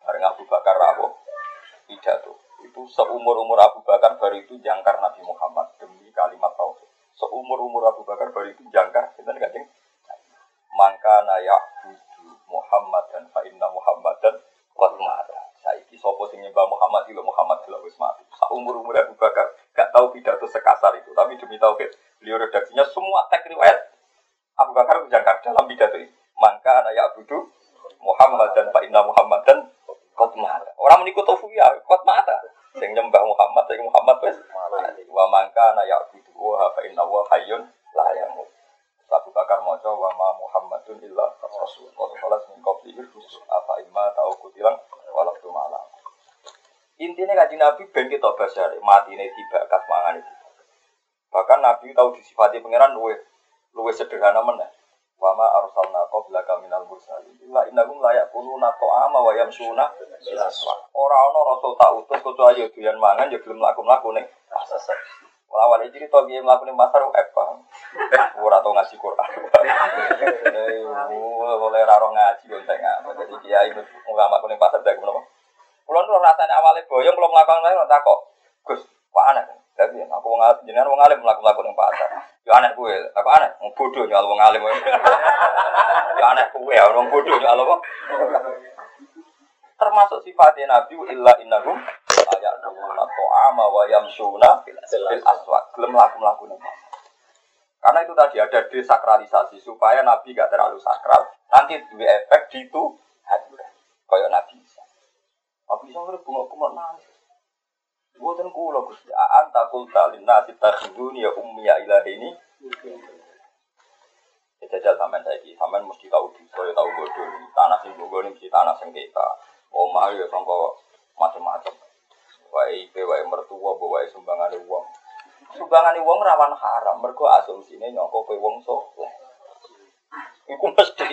Bareng Abu Bakar rawuh pidato. Itu seumur-umur Abu Bakar baru itu jangkar Nabi Muhammad demi kalimat tauhid. Seumur-umur Abu Bakar baru itu jangkar sinten Kanjeng. Mangka naya'budu Muhammad dan fa inna Muhammadan qad mata. Saiki sapa sing nyembah Muhammad iki Muhammad wis mati. Seumur-umur Abu Bakar gak tahu pidato sekasar itu, tapi demi tauhid beliau redaksinya semua teks riwayat Abu Bakar jangkar dalam pidato itu. Mangka naya'budu Muhammad dan fa inna Muhammadan qad mata. Orang meniku tauhid ya qad mata. Sing nyembah Muhammad sing Muhammad wis mati. Wa mangka naya'budu wa fa inna wa hayyun la yamut. Abu Bakar maca wa ma Muhammadun illa rasul. Qala min qablihi rusul afa imma ta'u kutilang walaqtu malam. Intine kanjeng Nabi ben kita basare matine dibakas mangane dibakas. Bahkan Nabi tahu disifati pangeran luwih sederhana meneh. Wa ma arsalna qablaka minal mursalin illa innahum la yaquluna ta'ama wa yamsuna bil aswaq. Ora ana rasul tak utus kecuali doyan mangan ya gelem mlaku-mlaku ning pasar. Lawan iki cerita piye mlaku ning pasar paham. Ora tau ngaji Quran. Oleh ora ngaji konteng. Dadi kiai ulama kuning pasar dak menapa. Kulo nu rasane awale boyong kulo mlakukan lha takok. Gus, kok aneh. Dadi aku wong jenengan wong alim mlaku-mlaku ning pasar. Yo aneh kuwe. Takok aneh, wong bodho nyal wong alim. Yo aneh kuwe, wong bodho nyal apa? Termasuk sifatnya Nabi illa innahum ayatuna ta'ama wa yamsuna bil aswaq. Gelem mlaku-mlaku ning pasar. Karena itu tadi ada desakralisasi supaya Nabi gak terlalu sakral. Nanti duwe efek di itu hati. Kayak Nabi Isa. Nabi Isa ngerti bunga-bunga nangis. Buatan kula Gusti, anta qulta lin-nasi takhuduni ya ummi ya ilahini. Ya jajal sampean saiki, sampean mesti tahu saya tahu bodoh. Tanah sing nggo mesti tanah sengketa. Omah ya sangka macam-macam. Wae ipe wae mertua, wae sumbangane wong. Sumbangane wong rawan haram, mergo asumsine nyangka kowe wong saleh. Iku mesti.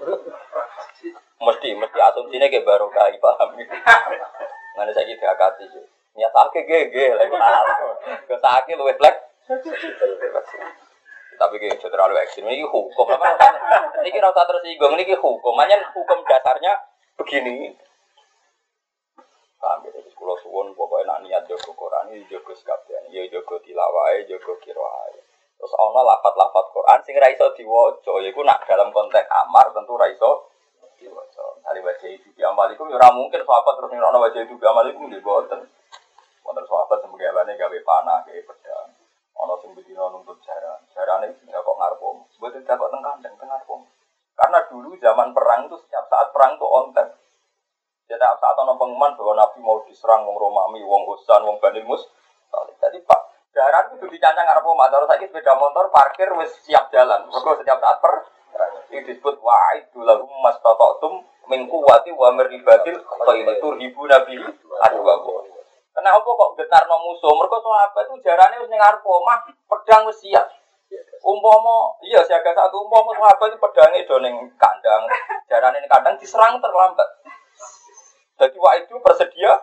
Mesti asumsine ke barokah paham. Ngene saiki diakati yo. Nyatake gege lha iku kesake luwih blek. Tapi ki terlalu ekstrem iki hukum apa? Niki ora usah tersinggung niki hukum. Manyen hukum dasarnya begini. Sampai dari sekolah suwon pokoknya nak niat jaga Quran ini jaga sekalian, ya jaga tilawah, jaga qiraah. Terus ana lafaz-lafaz Quran sing ra iso diwaca, yaiku nak dalam konteks amar tentu ra iso diwaca. Hari baca itu bi amalikum ya ora mungkin sahabat terus nirokno baca itu bi amalikum nggih boten. Wonten sahabat sing gaweane gawe panah, gawe pedang. Ana sing bedino nuntut jaran. Jarane iki kok ngarep om. Mboten takok teng kandang teng ngarep om. Karena dulu zaman perang itu setiap saat perang itu on time. Setiap saat ada pengumuman bahwa Nabi mau diserang wong Romawi, wong Husain, wong Bani Mus. Jadi Pak, jaran itu dicancang arep omah, terus saiki sepeda motor parkir wis siap jalan. Mergo setiap saat ini disebut wa'idul lahum mastata'tum min quwwati wa mirbatil khayl turhibu nabi adwa. Kenapa kok getarno musuh? Mergo sahabat itu jarane wis ning arep omah, pedang wis siap. Umpama iya siaga satu umpama sahabat itu pedange do ning kandang, jarane ning kandang diserang terlambat. Jadi wah itu bersedia.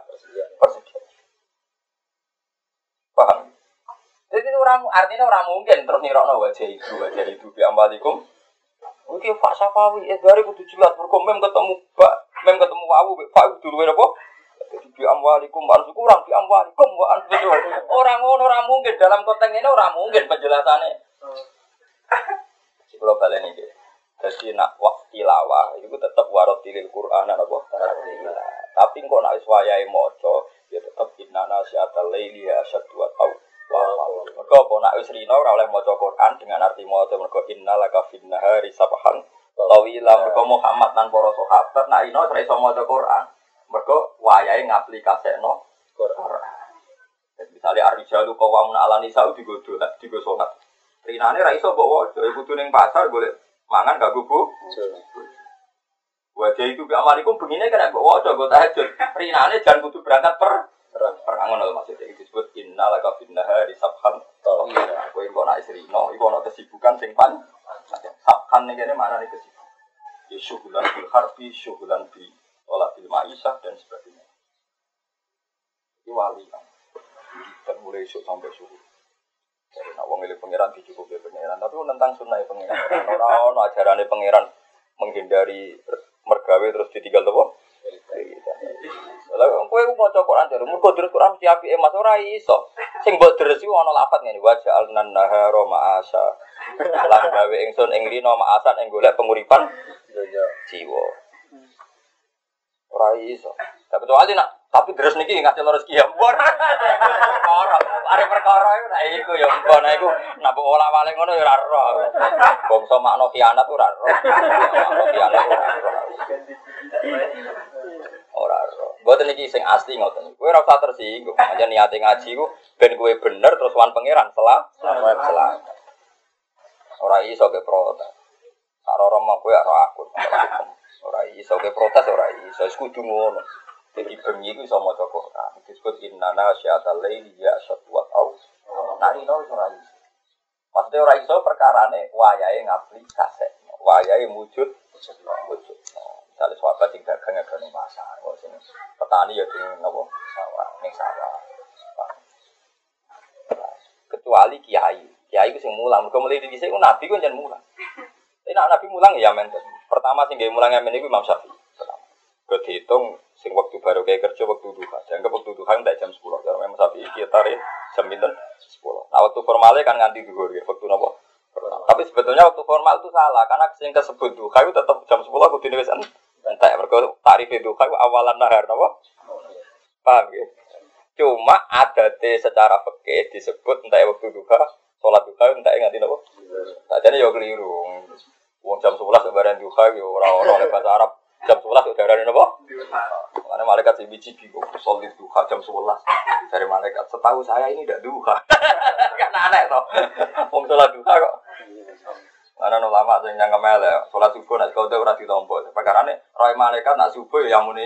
Paham? Jadi orang artinya orang mungkin terus nirokno wajah itu bi ambalikum. Oke, Pak Safawi dari kudu jelas berkomem ketemu wawu Pak dulu apa? Jadi bi ambalikum harus kurang bi ambalikum orang mungkin dalam konteks ini orang mungkin penjelasannya. Kalau kalian ini jadi nak waktu tilawah itu tetap warotilil Quran apa? Tapi kok nak iswayahe maca ya tetep innana syatal laili asyaddu wa taw. Mergo apa nak wis rino ora oleh maca Quran dengan arti maca mergo innalaka fin nahari sabhan tawila mergo Muhammad lan para sahabat nak ino ora iso maca Quran. Mergo wayahe ngaplikasekno Quran. Misale ar-rijalu qawamun 'ala nisa digodho salat. Rinane ra iso mbok waca kudu ning pasar golek mangan gak gugu. Wajah itu bi amalikum begini kan mbok waca go tahajud. Rinane jan kudu berangkat perang ngono maksudnya itu disebut innalaka finnahari sabhan. Kowe kok nak isrino iku ana kesibukan sing pan. Sabhan ning kene maknane kesibukan. Ya syughlan bil harbi, syughlan bi wala bil ma'isah dan sebagainya. Iki wali kan. Dan mulai esuk sampai subuh. Jadi nak wong milih pangeran dicukupi pangeran, tapi tentang sunnah pangeran. Ora ono ajarane pangeran menghindari mergawe terus ditinggal apa? Lah kowe maca Quran jare mergo deres Quran mesti apike Mas ora iso. Sing mbok deres iku ana lafat ngene wa ja'alnan nahara ma'asa. Lan gawe ingsun ing rina ma'asan ing golek penguripan jiwa. Ora iso. Tapi kecuali nak tapi deres niki ngasih rezeki ya. Perkara, are perkara iku nek iku ya engko nek iku nak olah-wale ngono ya ora ero. Bangsa makna khianat ora ero. Makna khianat ora ero. Ora ero. Mboten iki sing asli ngoten. Kowe ora usah tersinggung. Aja niate ngaji ku ben kowe bener terus wan pangeran selamat. Ora iso ke protes. Karo romo kowe ora akun. Ora iso ke protes ora iso. Wis kudu ngono. Jadi bengi itu bisa maca Quran. Disebut innana syatal laili ya syatwat au. Nari no ora iso. Maksudnya ora iso perkarane wayahe ngapli kasek. Wayahe wujud. Misalnya sahabat sing dagang ngene pasar, kok sing petani ya sing napa sawah, ning sawah. Kecuali kiai. Kiai ku sing mulang. Mergo mulai dhisik ku nabi ku njen mulang. Nek nabi mulang ya men. Pertama sing gawe mulang men iku Imam Syafi'i. Dihitung sing waktu baru kayak kerja waktu duha. Jangan waktu duha enggak jam 10. Kalau memang sapi kita tarik jam 10. Nah waktu formalnya kan nganti duhur ya waktu nopo. Tapi sebetulnya waktu formal itu salah karena sing kesebut duha itu tetap jam 10 aku dini wis entek. Mergo tarif duha itu awalan nahar nopo. Paham ya? Cuma adate secara fikih disebut entek waktu duha, salat duha entek nganti nopo. Sajane yo keliru. Wong jam 11 bareng duha yo ora oleh bahasa Arab. Jam 11 udah ada apa? Karena malaikat si biji bingung, solid duha jam 11 dari malaikat. Setahu saya ini tidak duha, kan aneh toh. Om sholat duha kok. Karena ulama sing yang kemel ya, sholat subuh nak kau tu ora ditompo. Perkarane roy malaikat nak subuh yang muni.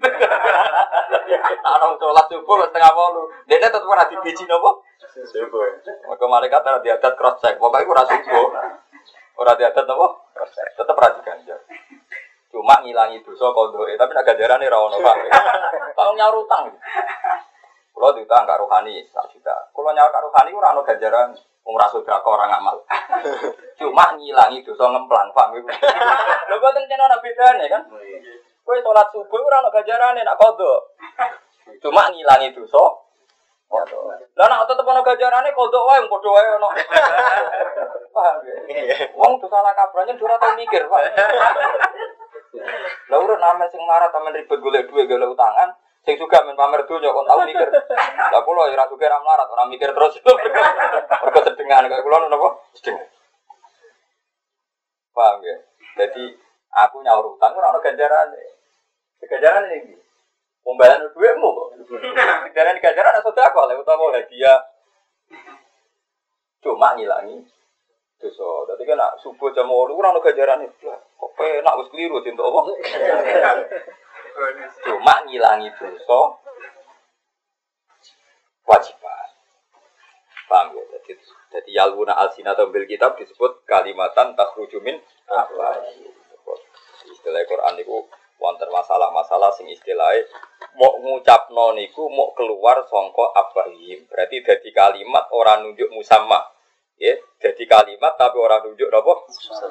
Nak sholat subuh setengah 8. Dene tetep ora dibiji napa? Subuh. Maka malaikat ora diadat cross check. Pokoke ora subuh. Ora diadat napa? Cross check. Tetep ora diganjar. Cuma ngilangi dosa kondoke, tapi nak ganjarane ra ono Pak. Kalau nyaur utang. Kulo diutang karo rohani 1 juta. Kulo nyaur karo rohani ora ono ganjaran, wong ra sedekah ora ngamal. Cuma ngilangi dosa ngemplang, Pak. Lho boten kena ana bedane kan? Kowe salat subuh ora ono ganjarane nak kondo. Cuma ngilangi dosa. Lah nek tetep ono ganjarane kondo wae padha wae ono. Paham ya? Wong dosa la kabrane ora tau mikir, Pak. Lah urut amen sing marah tamen ribet golek duit golek utangan, sing juga men pamer donya kon tau mikir. Lah kula ora suka ra melarat, ora mikir terus. Mergo sedengan kaya kula napa? Sedengan. Paham ya? Jadi aku nyaur utang ora ono ganjarane. Ganjarane iki. Pembayaran duitmu kok. Ganjaran ada sedekah lek utawa hadiah. Cuma ngilangi dosa. Dadi kan nak subuh jam 8 ora ono ganjarane. Kok penak wis keliru entuk apa? Cuma ngilangi dosa wajiban. Paham ya? Jadi yalwuna alsinata bil kitab disebut kalimatan takhruju min afwahi. Istilah Quran niku wonten masalah-masalah sing istilahé mau ngucapno niku mau keluar saka afwahi. Berarti dadi kalimat ora nunjuk musamma. Ya, jadi kalimat tapi orang tunjuk apa?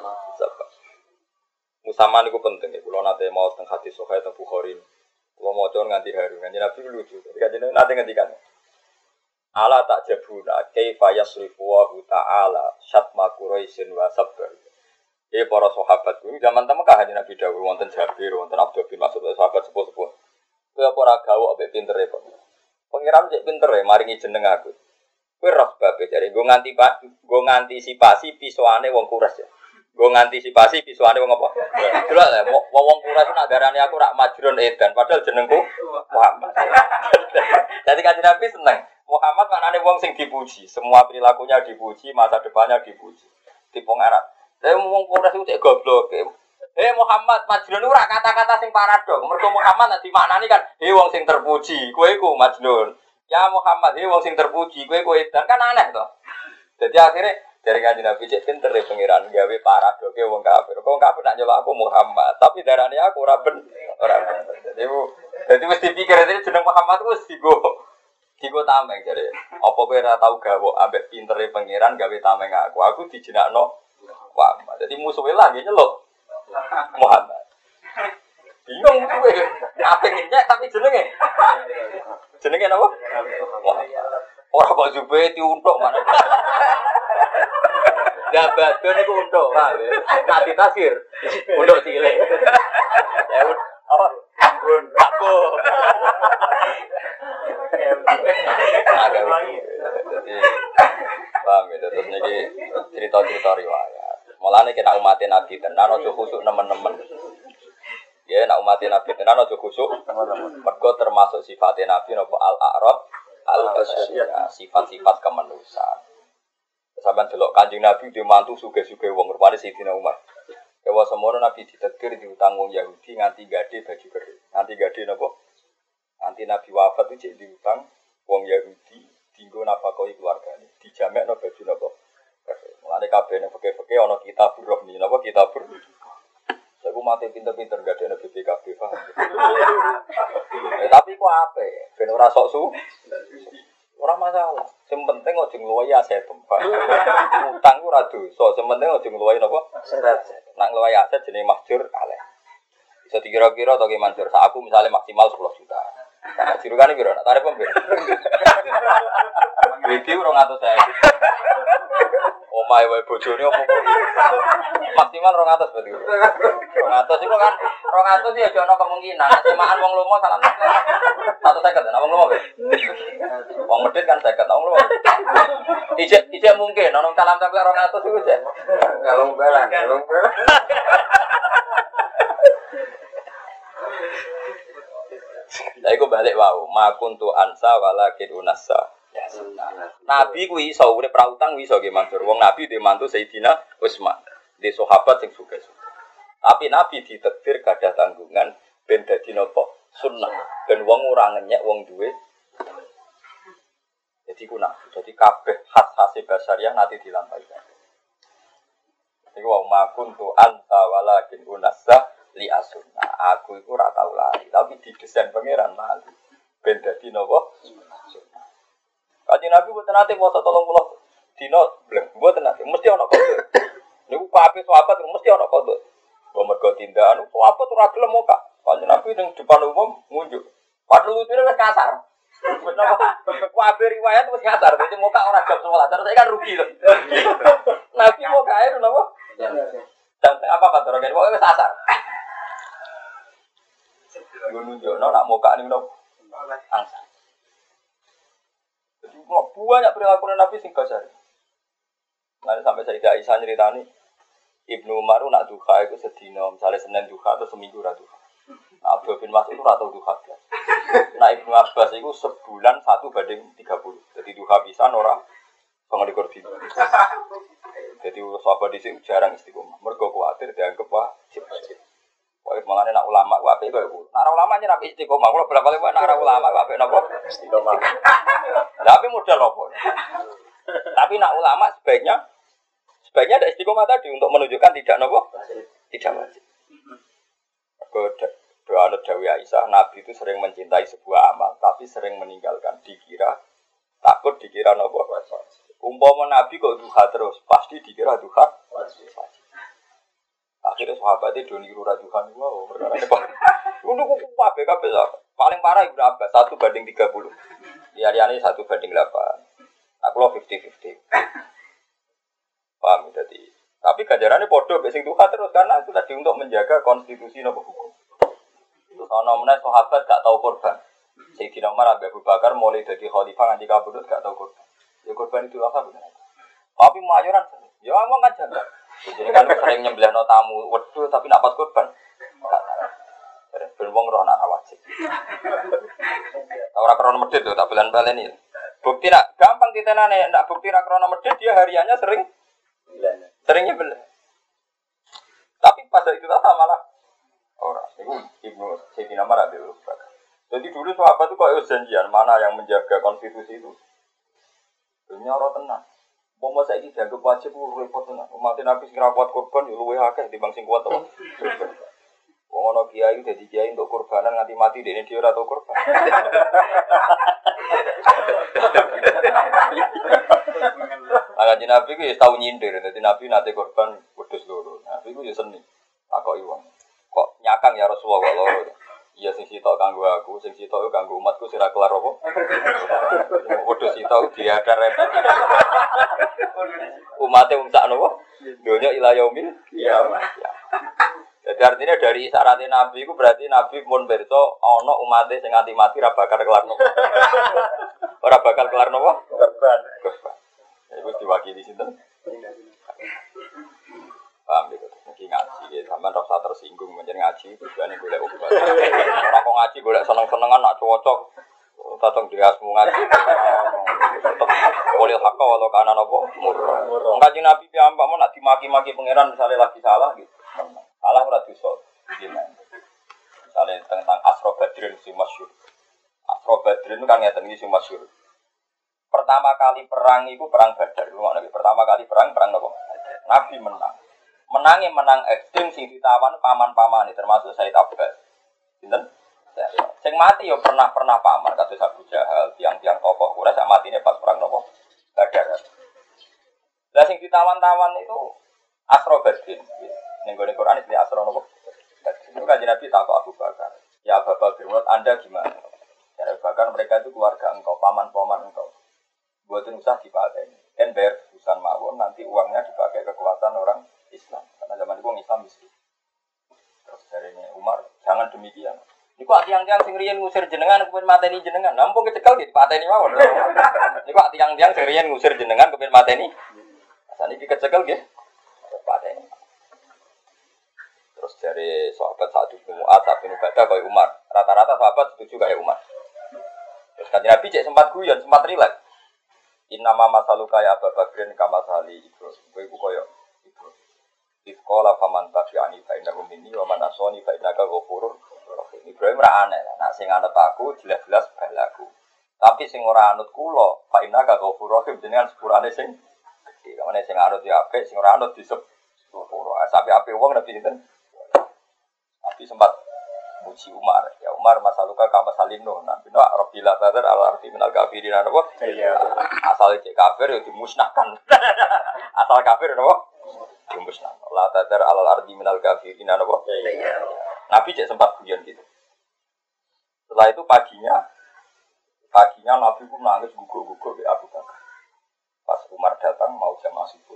Musamma niku penting ya. Kula nate mau teng hadis sahih teng Bukhari. Kula maca nganti haru. Kanjeng Nabi lucu. Jadi kanjeng nate ngendikan. Ala tak jabuna kaifa yasrifu wa ta'ala syatma quraisin wa sabr. Para sahabat kuwi zaman Mekah kanjeng Nabi dawuh wonten Jabir, wonten Abdul bin Mas'ud sahabat sepuh-sepuh. Kowe apa ora gawok ambek pintere kok. Pengiram cek pintere maringi jeneng aku. Kowe roh babe jare nggo ngantisipasi pisuane wong Quraisy ya. Nggo ngantisipasi pisuane wong apa? Delok lho wong Quraisy nak darani aku rak majrun edan padahal jenengku Muhammad. Jadi kanjeng Nabi seneng. Muhammad maknane wong sing dipuji, semua perilakunya dipuji, masa depannya dipuji. Tipe Arab. Lah wong Quraisy cek goblok. Muhammad majnun ora kata-kata sing paradok. Mergo Muhammad nek dimaknani kan wong sing terpuji, kowe iku majnun. Ya Muhammad, wong sing terpuji, kowe edan kan aneh to. Jadi akhirnya dari kanjeng Nabi cek pinter ya pengiran gawe paradoke wong kafir. Wong kafir nak nyelok aku Muhammad, tapi darane aku ora ben. Jadi mesti pikir itu jeneng Muhammad wis digo tameng jare. Apa kowe ora tau gawok ambek pintere pengiran gawe tameng aku. Aku dijenakno Muhammad. Jadi musuhe lagi nyelok Muhammad. Bingung kowe. Apa nyek tapi jenenge. Jenenge napa? Ora kok jube diuntuk mana. Ya badon iku untuk, Pak. Nanti tasir. Untuk cilik. Ya apa? Bun, aku. Agak lagi. Paham ya, terus niki cerita-cerita riwayat. Mulane kena umat Nabi tenan aja khusuk nemen-nemen. Ya nek umat Nabi tenan aja khusuk nemen-nemen. Mergo termasuk sifat Nabi napa al-a'rab al-basyariyah, sifat-sifat kemanusiaan. Sampeyan delok Kanjeng Nabi di mantu sugih-sugih wong rupane Sayyidina Umar. Kewa semono Nabi ditetir diutang wong Yahudi nganti gade baju kering. Nganti gade napa? Nanti Nabi wafat itu jadi diutang wong Yahudi dinggo nafkahi keluargane. Dijamekno baju napa? Mulane kabeh nek fikih-fikih ana kitab rohni napa kitabur. Saya mati pinter-pinter gak ada BPKB paham. Tapi kok ape? Ben ora sok su. Ora masalah. Sing penting aja ngluwahi aset. Utang ku ora dosa, sing penting aja ngluwahi napa? Aset. Nek ngluwahi aset jenenge mahjur aleh. Bisa dikira-kira to ki mahjur sak aku misalnya maksimal 10 juta. Nah, jirukane piro? Nak tarif pembeli. Iki 200.000. Omahe wae bojone opo kok. Maksimal 200 berarti. 200 iku kan 200 ya ana kemungkinan semaan wong lomo salah 150 ana wong lomo. Wong medhit kan 50 wong lomo. Ijek mungkin ana salam sampe 200 iku jek. Kalau balang. Lah iku balik wau, makuntu ansa walakin unassa. Ya sunnah. Nabi kuwi iso urip ra utang iso nggih Mansur. Wong Nabi dhe mantu Sayyidina Utsman, dhe sahabat sing sugih-sugih. Tapi Nabi ditakdir gadah tanggungan ben dadi napa? Sunnah. Ben wong ora ngenyek wong duwe. Jadi kuna, jadi kabeh khas-khase basaria nanti dilampaikan. Iku wau makuntu anta walakin unassa li asunna. Aku iku ora tau lari, tapi didesain pangeran lali. Ben dadi napa? Kanjeng Nabi mboten nate maca 30 dina bleng, mboten nate, mesti ana kodho. Niku kabeh sahabat mesti ana kodho. Mbok mergo tindakan sahabat ora gelem kok. Kanjeng Nabi ning depan umum ngunjuk. Padahal lutune wis kasar. Wis napa? Kabeh riwayat wis kasar, dadi muka ora jam 11. Terus saya kan rugi lho. Nabi mau kae napa? Sampai apa Pak Dorogen pokoke wis kasar. Nunjukno nak muka ning napa? Angsa. Banyak perilaku Nabi sing kasar. Lalu sampai Sayyidah Aisyah nyeritani Ibnu Umar nak duha itu sedina, misalnya Senin duha atau seminggu ra duha. Nah, Abdul bin Mas'ud itu ora tau duha. Nah, Ibnu Abbas itu sebulan 1:30. Jadi duha pisan ora 29 dina. Jadi sahabat di sini jarang istiqomah. Mergo kuwatir dianggap wajib. Wae malane nak ulama ku apik kowe iku. Nak ulama nyira apik istiqomah. Kulo bolak-balik nak ulama ku apik napa? Istiqomah. Tapi modal apa? Tapi nak ulama sebaiknya ada istiqomah tadi untuk menunjukkan tidak napa? Tidak wajib. Doa Nabi Aisyah, Nabi itu sering mencintai sebuah amal, tapi sering meninggalkan. Takut dikira napa? Umpama Nabi kok duha terus, pasti dikira duha wajib. Akhirnya sahabatnya do niru rajuhan wow, perkara ini Pak. Untuk kabeh paling parah Ibnu Abbas 1:30. Liyane 1:8. Aku lo 50-50. Paham jadi. Tapi ganjarannya podo mek sing duha terus karena itu tadi untuk menjaga konstitusi nopo hukum. Terus ana meneh sahabat gak tau korban. Sayyidina Umar Abu Bakar mulai dadi khalifah nganti kabudut gak tau korban. Ya korban itu apa bener. Tapi mayoran ya ngomong kan janda. Jadi kan sering nyembelihno tamu, waduh tapi nak pas korban. Ben wong roh nak wajib. Ora krono medhit lho, tak balen-baleni. Bukti nak gampang ditenane, ndak bukti nak krono medhit dia hariannya sering nyembelih. Tapi pada itu malah ora. Iku Ibnu Sayyidina Umar Abdul Bakar. Jadi dulu sahabat itu kok janjian mana yang menjaga konstitusi itu. Dunia ora tenang. Bomo saiki dianggap wajib repot tenan. Umat Nabi sing ra kuat korban yo luwih akeh timbang sing kuat to. Wong ana kiai dadi kiai untuk korbanan nganti mati dene dhewe ora tau korban. Ala Nabi ku ya tau nyindir, dadi Nabi nate korban wedhus loro. Nabi ku ya seni. Takoki wong. Kok nyakang ya Rasulullah Rasulullah kok loro. Iya sing sitok kanggo aku, sing sitok kanggo umatku sira kelar apa? Padha sitok diadar. Umate wong sak napa? Donya ila yaumil kiamat. Jadi artinya dari syarat Nabi itu berarti Nabi pun berso ana umate sing nganti mati ora bakal kelar napa. Ora bakal kelar napa? Korban. Iku diwakili sinten? Paham gitu. Iki ngaji ya, sampean ora usah tersinggung menjen ngaji tujuane golek obat. Ora kok ngaji golek seneng-senengan nak cocok. Tatong dirasmu ngaji. Boleh hak walau kana napa murah. Kanjeng Nabi piyambak mau nak dimaki-maki pangeran misalnya lagi salah gitu. Salah ora dosa. Gimana? Misalnya tentang Asra Badrin si masyhur. Asra Badrin itu kan ngeten iki sing masyhur. Pertama kali perang itu perang Badar. Pertama kali perang apa? Nabi menang. Menang ekstrim sing ditawan paman-pamane termasuk Said Abbas. Sinten? Sing mati yo pernah paman kados Abu Jahal, tiang-tiang tokoh ora sak matine pas perang napa? Badar. Lah sing ditawan-tawan itu Asra Badrin. Ning gone Quran iki Asra napa? Itu kan Nabi takok Abu Bakar. Ya Abu Bakar, menurut Anda gimana? Ya Abu Bakar, mereka itu keluarga engkau, paman-paman engkau. Buatin usah dipateni. Kan bayar urusan mawon nanti uangnya dipakai kekuatan orang Islam. Karena zaman itu orang Islam miskin. Terus dari ini Umar, jangan demikian. Niku tiang-tiang sing riyen ngusir jenengan kepen mateni jenengan. Nampung kecekel gitu pateni mawon. Niku tiang-tiang sing riyen ngusir jenengan kepen mateni. Saniki kecekel nggih. Pateni. Terus dari sahabat Sa'd bin Mu'adz bin Ubadah kaya Umar. Rata-rata sahabat setuju kaya Umar. Terus kan Nabi cek sempat guyon, sempat rileks. Innama masaluka ya Abu Bakrin kama sali Ibrahim. Kowe iku kaya Ibrahim. Ifqala faman tabi'ani fa innahu minni wa man asani fa innaka ghafurur rahim. Ibrahim ra aneh. Nek sing anut aku jelas-jelas balaku. Tapi sing ora anut kula fa innaka ghafurur rahim jenengan sepurane sing gedhe. Kamane sing anut ya apik, sing ora anut disepuro. Sampai apik wong nabi sinten? Nabi sempat muji Umar. Ya Umar masaluka kama salino. Nabi no Rabbil Badar al-arti minal kafirin apa? Iya. Asal cek kafir ya dimusnahkan. Asal kafir apa? Dimusnahkan. La tadar al-arti minal kafirin apa? Iya. Nabi cek sempat guyon gitu. Setelah itu paginya Nabi pun nangis gugur-gugur di Abu Bakar. Pas Umar datang mau jamaah subuh.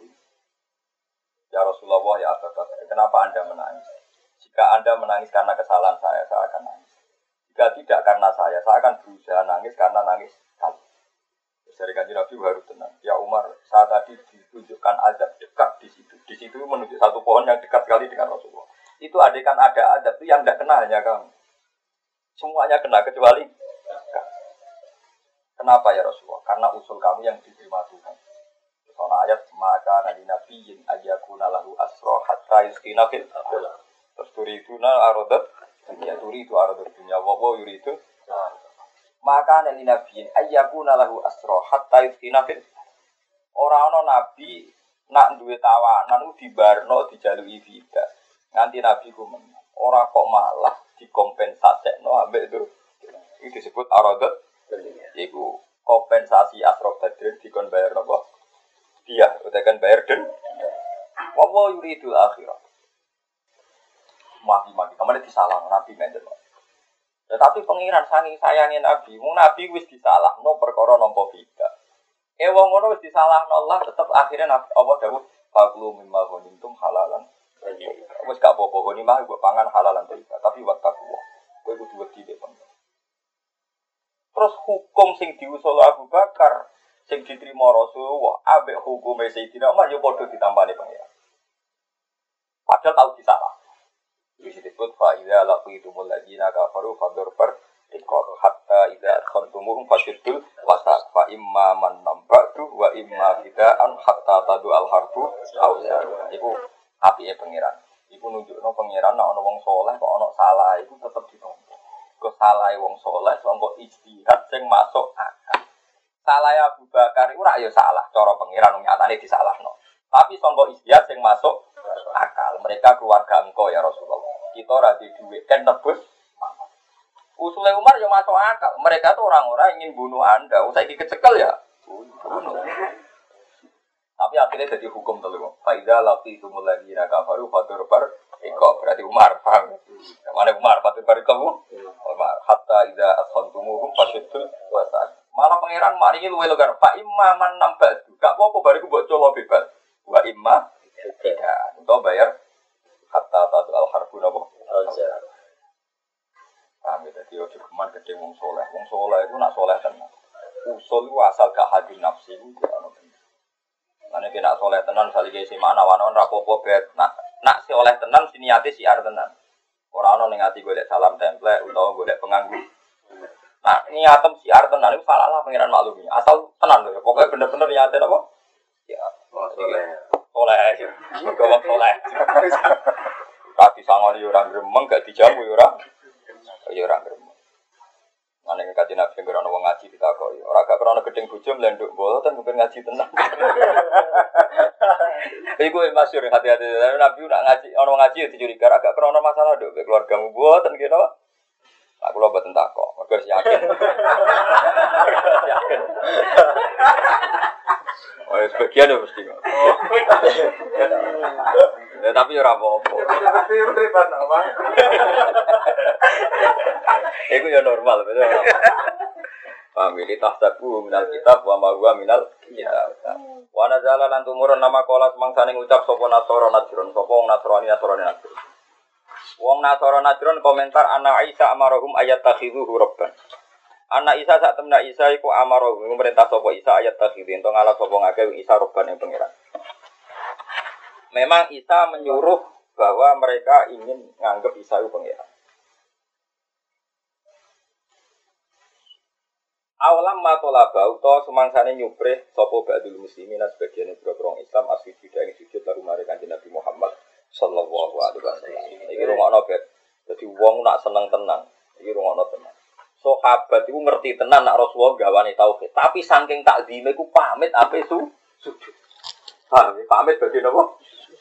Ya Rasulullah ya Abu Bakar, kenapa Anda menangis? Jika Anda menangis karena kesalahan saya akan nangis. Jika tidak karena saya akan berusaha nangis karena nangis kamu. Dari kanjeng Nabi baru tenang. Ya Umar, saat tadi ditunjukkan azab dekat di situ. Di situ menunjuk satu pohon yang dekat sekali dengan Rasulullah. Itu adekan ada azab itu yang tidak kena hanya kamu. Semuanya kena kecuali kamu. Kenapa ya Rasulullah? Karena usul kamu yang diterima Tuhan. Soal ayat maka nabi nabiyin ayyakuna lahu asra hatta yusqina fil ardh. Terus turiduna aradat dunia turidu aradat dunia wa yuridu. Maka nabi nabiyin ayyakuna lahu asra hatta yusqina fil. Ora ana nabi nak duwe tawanan dibarno dijaluki vida. Nganti nabi ku menang. Ora kok malah dikompensasekno ambek itu. Iki disebut aradat dunia. Iku kompensasi Asra Badrin dikon bayar napa? Dia utakan bayar den. Wa yuridul akhirah. Mati-mati kemana disalah Nabi ngene. Tetapi pengiran saking sayangin Nabi, wong Nabi wis disalahno perkara nampa beda. Wong ngono wis disalahno Allah tetep akhirnya Nabi Allah dawuh faqlu mimma ghanimtum halalan. Wis gak apa-apa ghanimah mbok pangan halalan tapi wattaqwa. Kowe kudu wedi dek. Terus hukum sing diusul Abu Bakar sing diterima Rasulullah ambek hukume Sayyidina Umar yo padha ditampani pengira. Padahal tahu disalah. Iki disebut fa idza laqitumul ladina kafaru fadurbar ikor hatta idza khantumum fashiddul wasaq fa imma man nambatu wa imma fidaan hatta tadu al harbu auza. Iku apike pengiran. Iku nunjukno pengiran nek ana wong saleh kok ana salah iku tetep ditampa. Kok salahe wong saleh kok ijtihad sing masuk akal. Salah Abu Bakar itu ora ya salah, cara pengiran nyatane disalahno. Tapi sangka ijtihad sing masuk akal. Mereka keluarga engkau ya Rasulullah. Kita ora di dhuwit kan nebus. Usule Umar ya masuk akal. Mereka tuh orang-orang ingin bunuh Anda. Saiki kecekel ya. Bunuh. Tapi akhirnya jadi hukum telu. Faiza lati itu mulai dina kafaru fatur bar iko berarti Umar paham. Mana Umar fatur bar iko Umar hatta ida asfantumuhum fasyidul wasa. Malah pangeran mari luwe logar Pak Imam nambah. Gak apa-apa bariku mbok colo bebas. Wa imma tidak. Untuk bayar hatta tatu al harbu napa. Kami tadi ojo keman gede wong soleh. Wong soleh itu nak soleh tenan. Usul itu asal gak hadir nafsi itu ana. Mane kena soleh tenan salike si makna-wana rapopo bet. Nak si oleh tenan siniate siar tenan. Ora ana ning ati golek salam template utawa golek penganggu. Nah, niatem siar tenan iku salah lah pangeran maklumi. Asal tenan lho. Pokoke bener-bener niate apa? Ya, soleh. Gawang soleh. Kaki sangoni ora gremeng gak dijamu ora. Ya ora gremeng. Mane kaji nabi yang krono wong ngaji ditakoki, ora gak krono gedeng bojo mlenduk mboten mungkin ngaji tenan. Iku masyhur hati-hati nabi nak ngaji ono ngaji ya dicuriga agak krono masalah nduk keluargamu mboten kira. Aku lho mboten takok, mergo yakin. Yakin. Oh, sebagian ya mesti kok. Ya tapi ora apa-apa. Tapi ribet apa? Iku ya normal, betul. Famili tahsabu minal kitab wa ma huwa minal kitab. Wa nazala lan tumurun nama kala semangsane ngucap sapa Nasara Najron, sapa wong Nasrani Najron. Wong Nasara Najron komentar ana Isa amarahum ayat takhidhu rabban. Ana Isa sak temna Isa iku amarahum merintah sapa Isa ayat takhidhu ento ngalap sapa ngake Isa rabban ing pangeran. Memang Isa menyuruh bahwa mereka ingin nganggep Isa itu pangeran. Awalam matolaba utawa sumangsane nyuprih sapa ba'dul muslimin sebagian boro-boro Islam asli tidak ing sujud lalu mari Kanjeng Nabi Muhammad sallallahu alaihi wasallam. Iki rungokno bet. Dadi wong nak seneng tenang, iki rungokno tenang. Sahabat iku ngerti tenan nak Rasulullah gawane tauhid, tapi saking takzime iku pamit ape sujud. Pamit badhe napa?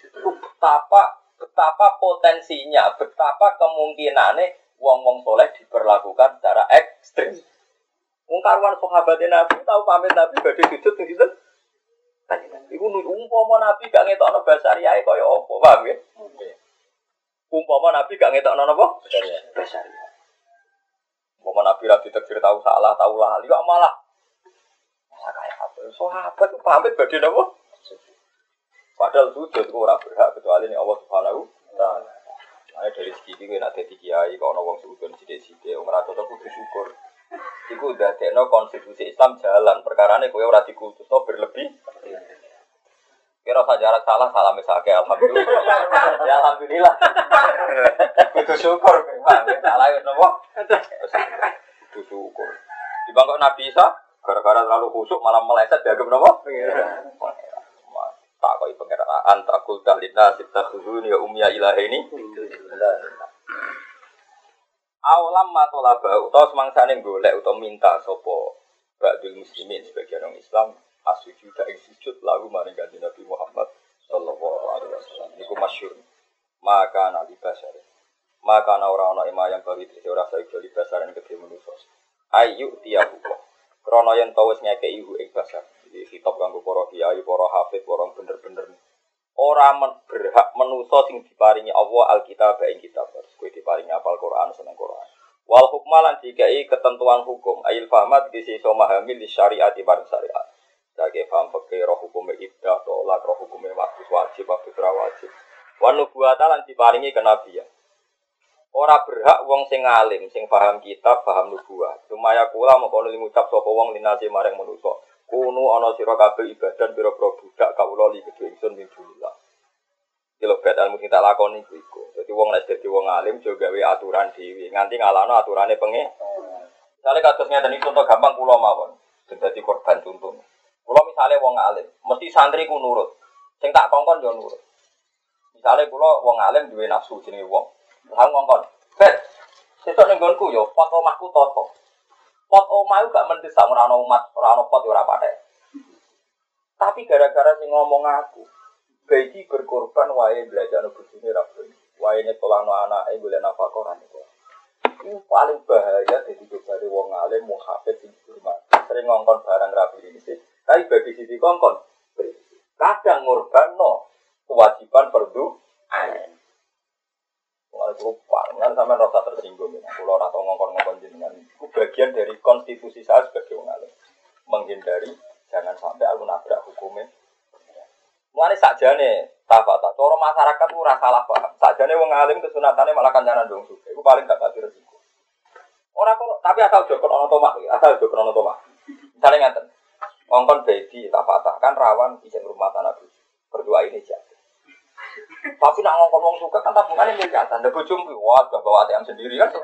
Betapa potensinya, betapa kemungkinane wong-wong soleh diperlakukan secara ekstrem. Wong karuan sahabat Nabi tahu pamit Nabi badhe sujud ning sinten? Kanjeng. Iku umpama Nabi gak ngetokno basariyae kaya apa, paham ya? Umpama Nabi gak ngetokno napa? Basariyae. Umpama Nabi ra ditakdir tahu salah, tahu lali kok malah kaya apa? Sahabat pamit badhe napa? Padahal sujud ku ora berhak kecuali ning Allah Subhanahu wa taala. Ana dari segi iki nek dadi kiai kok ana wong sujud sithik-sithik ora cocok kudu syukur. Iku dadekno konstitusi Islam jalan, perkarane kowe ora dikultusno berlebih. Kira sajarak salah misake alhamdulillah. Ya alhamdulillah. Kudu syukur, salah wis napa? Kudu syukur. Dibangkok Nabi Isa gara-gara terlalu khusuk malah meleset dianggap napa? Tak kok pengeran antakul dalina sitakhuzun ya umya ilahi. Awalam matolaba utawa semangsane golek utawa minta sapa ba'dul muslimin sebagian orang Islam asujud ing sujud lalu maring Kanjeng Nabi Muhammad sallallahu alaihi wasallam. Niku masyhur. Maka nabi basar. Maka ora ana yang bari dhewe ora saiki basar ing kedhe manusa. Ayu tiyahu. Krana yen ta wis ngekeki ing basar. Iki kitab kanggo para kiai, para hafid, para bener-bener ora berhak manusa sing diparingi Allah Alkitab ing kitab. Kowe diparingi apal Quran seneng Quran. Wal hukmalan dikai ketentuan hukum, ail fahmat disi iso memahami li syariat bareng syariat. Dage paham fikih roh hukum ibdah tolak roh hukum wajib wajib. Wan nubuwata lan diparingi kenabian. Ora berhak wong sing alim, sing paham kitab, paham nubuwah. Sumaya kula mengkono ngucap sapa wong linase maring manusa. Kuno ana sira kabeh ibadah pira-pira budak kawula li kedhe ingsun min dunillah. Kilo bedal mesti tak lakoni iku. Dadi wong nek dadi wong alim jo gawe aturan dhewe, nganti ngalahno aturane pengen. Misale kados ngeten iki contoh gampang kula mawon. Sing dadi korban contoh. Kula misale wong alim, mesti santri ku nurut. Sing tak kongkon yo nurut. Misale kula wong alim duwe nafsu jenenge wong. Lah ngongkon. Bet. Sesuk ning nggonku yo pot omahku toto. Pot omah itu gak mendesak, ora ana umat, ora ana pot ora patek. Tapi gara-gara sing ngomong aku, bayi berkorban wae belajar bojone ra ben. Wae nyetolano anake golek nafkah ora niku. Iku paling bahaya dadi dari wong alim muhafid sing hormat. Sering ngongkon barang rapi iki. Tapi bagi sisi kongkon, Kadang ngorbanno kewajiban fardu ain. Mulai lupa, kan sampai rasa tersinggung. Kalau rata ngongkon-ngongkon jenengan, itu bagian dari konstitusi saya sebagai wong alim. Menghindari jangan sampai aku nabrak hukumnya. Mulai sakjane tafata, cara masyarakat itu rasa salah paham. Sakjane wong alim kesunatannya malah kancanan dong suka. Itu paling gak kasih resiko. Orang kok, tapi asal jokon ono tomak, asal jokon ono tomak. Misalnya ngaten, ngongkon baby tafata kan rawan izin rumah tanah bu. Berdua ini aja. Tapi nak ngongkon wong suka kan tabungannya miliaran. Ndak bojomu wah gak bawa ATM sendiri kan.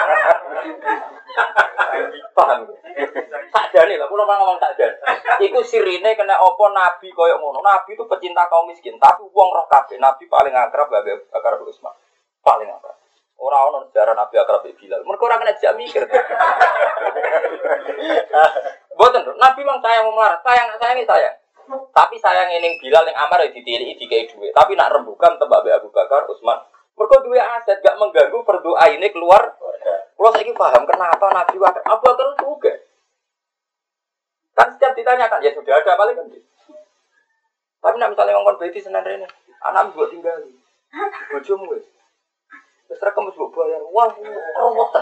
Paham. Sakjane lah, kula ngomong sakjane. Iku sirine kena apa nabi koyo ngono. Nabi itu pecinta kaum miskin, tapi wong roh kabeh. Nabi paling akrab Abu Bakar bin Utsman. Paling akrab. Ora ono sejarah Nabi akrab be Bilal. Mergo ora kena jak mikir. Boten, Nabi mang sayang melarat, sayang. Tapi sayang ning Bilal ning Amar ditiliki dikei dhuwit. Tapi nak rembukan tembak Abu Bakar Utsman. Mergo duwe aset gak mengganggu berdoa ini keluar. Kalau saiki paham kenapa Nabi Abu Bakar juga. Kan setiap ditanyakan ya sudah ada paling kan. Tapi nak misalnya ngomong baiti senan rene, anak mbok tinggali. Bojomu wis. Wis rekam wis mbok bayar. Wah, rowoten.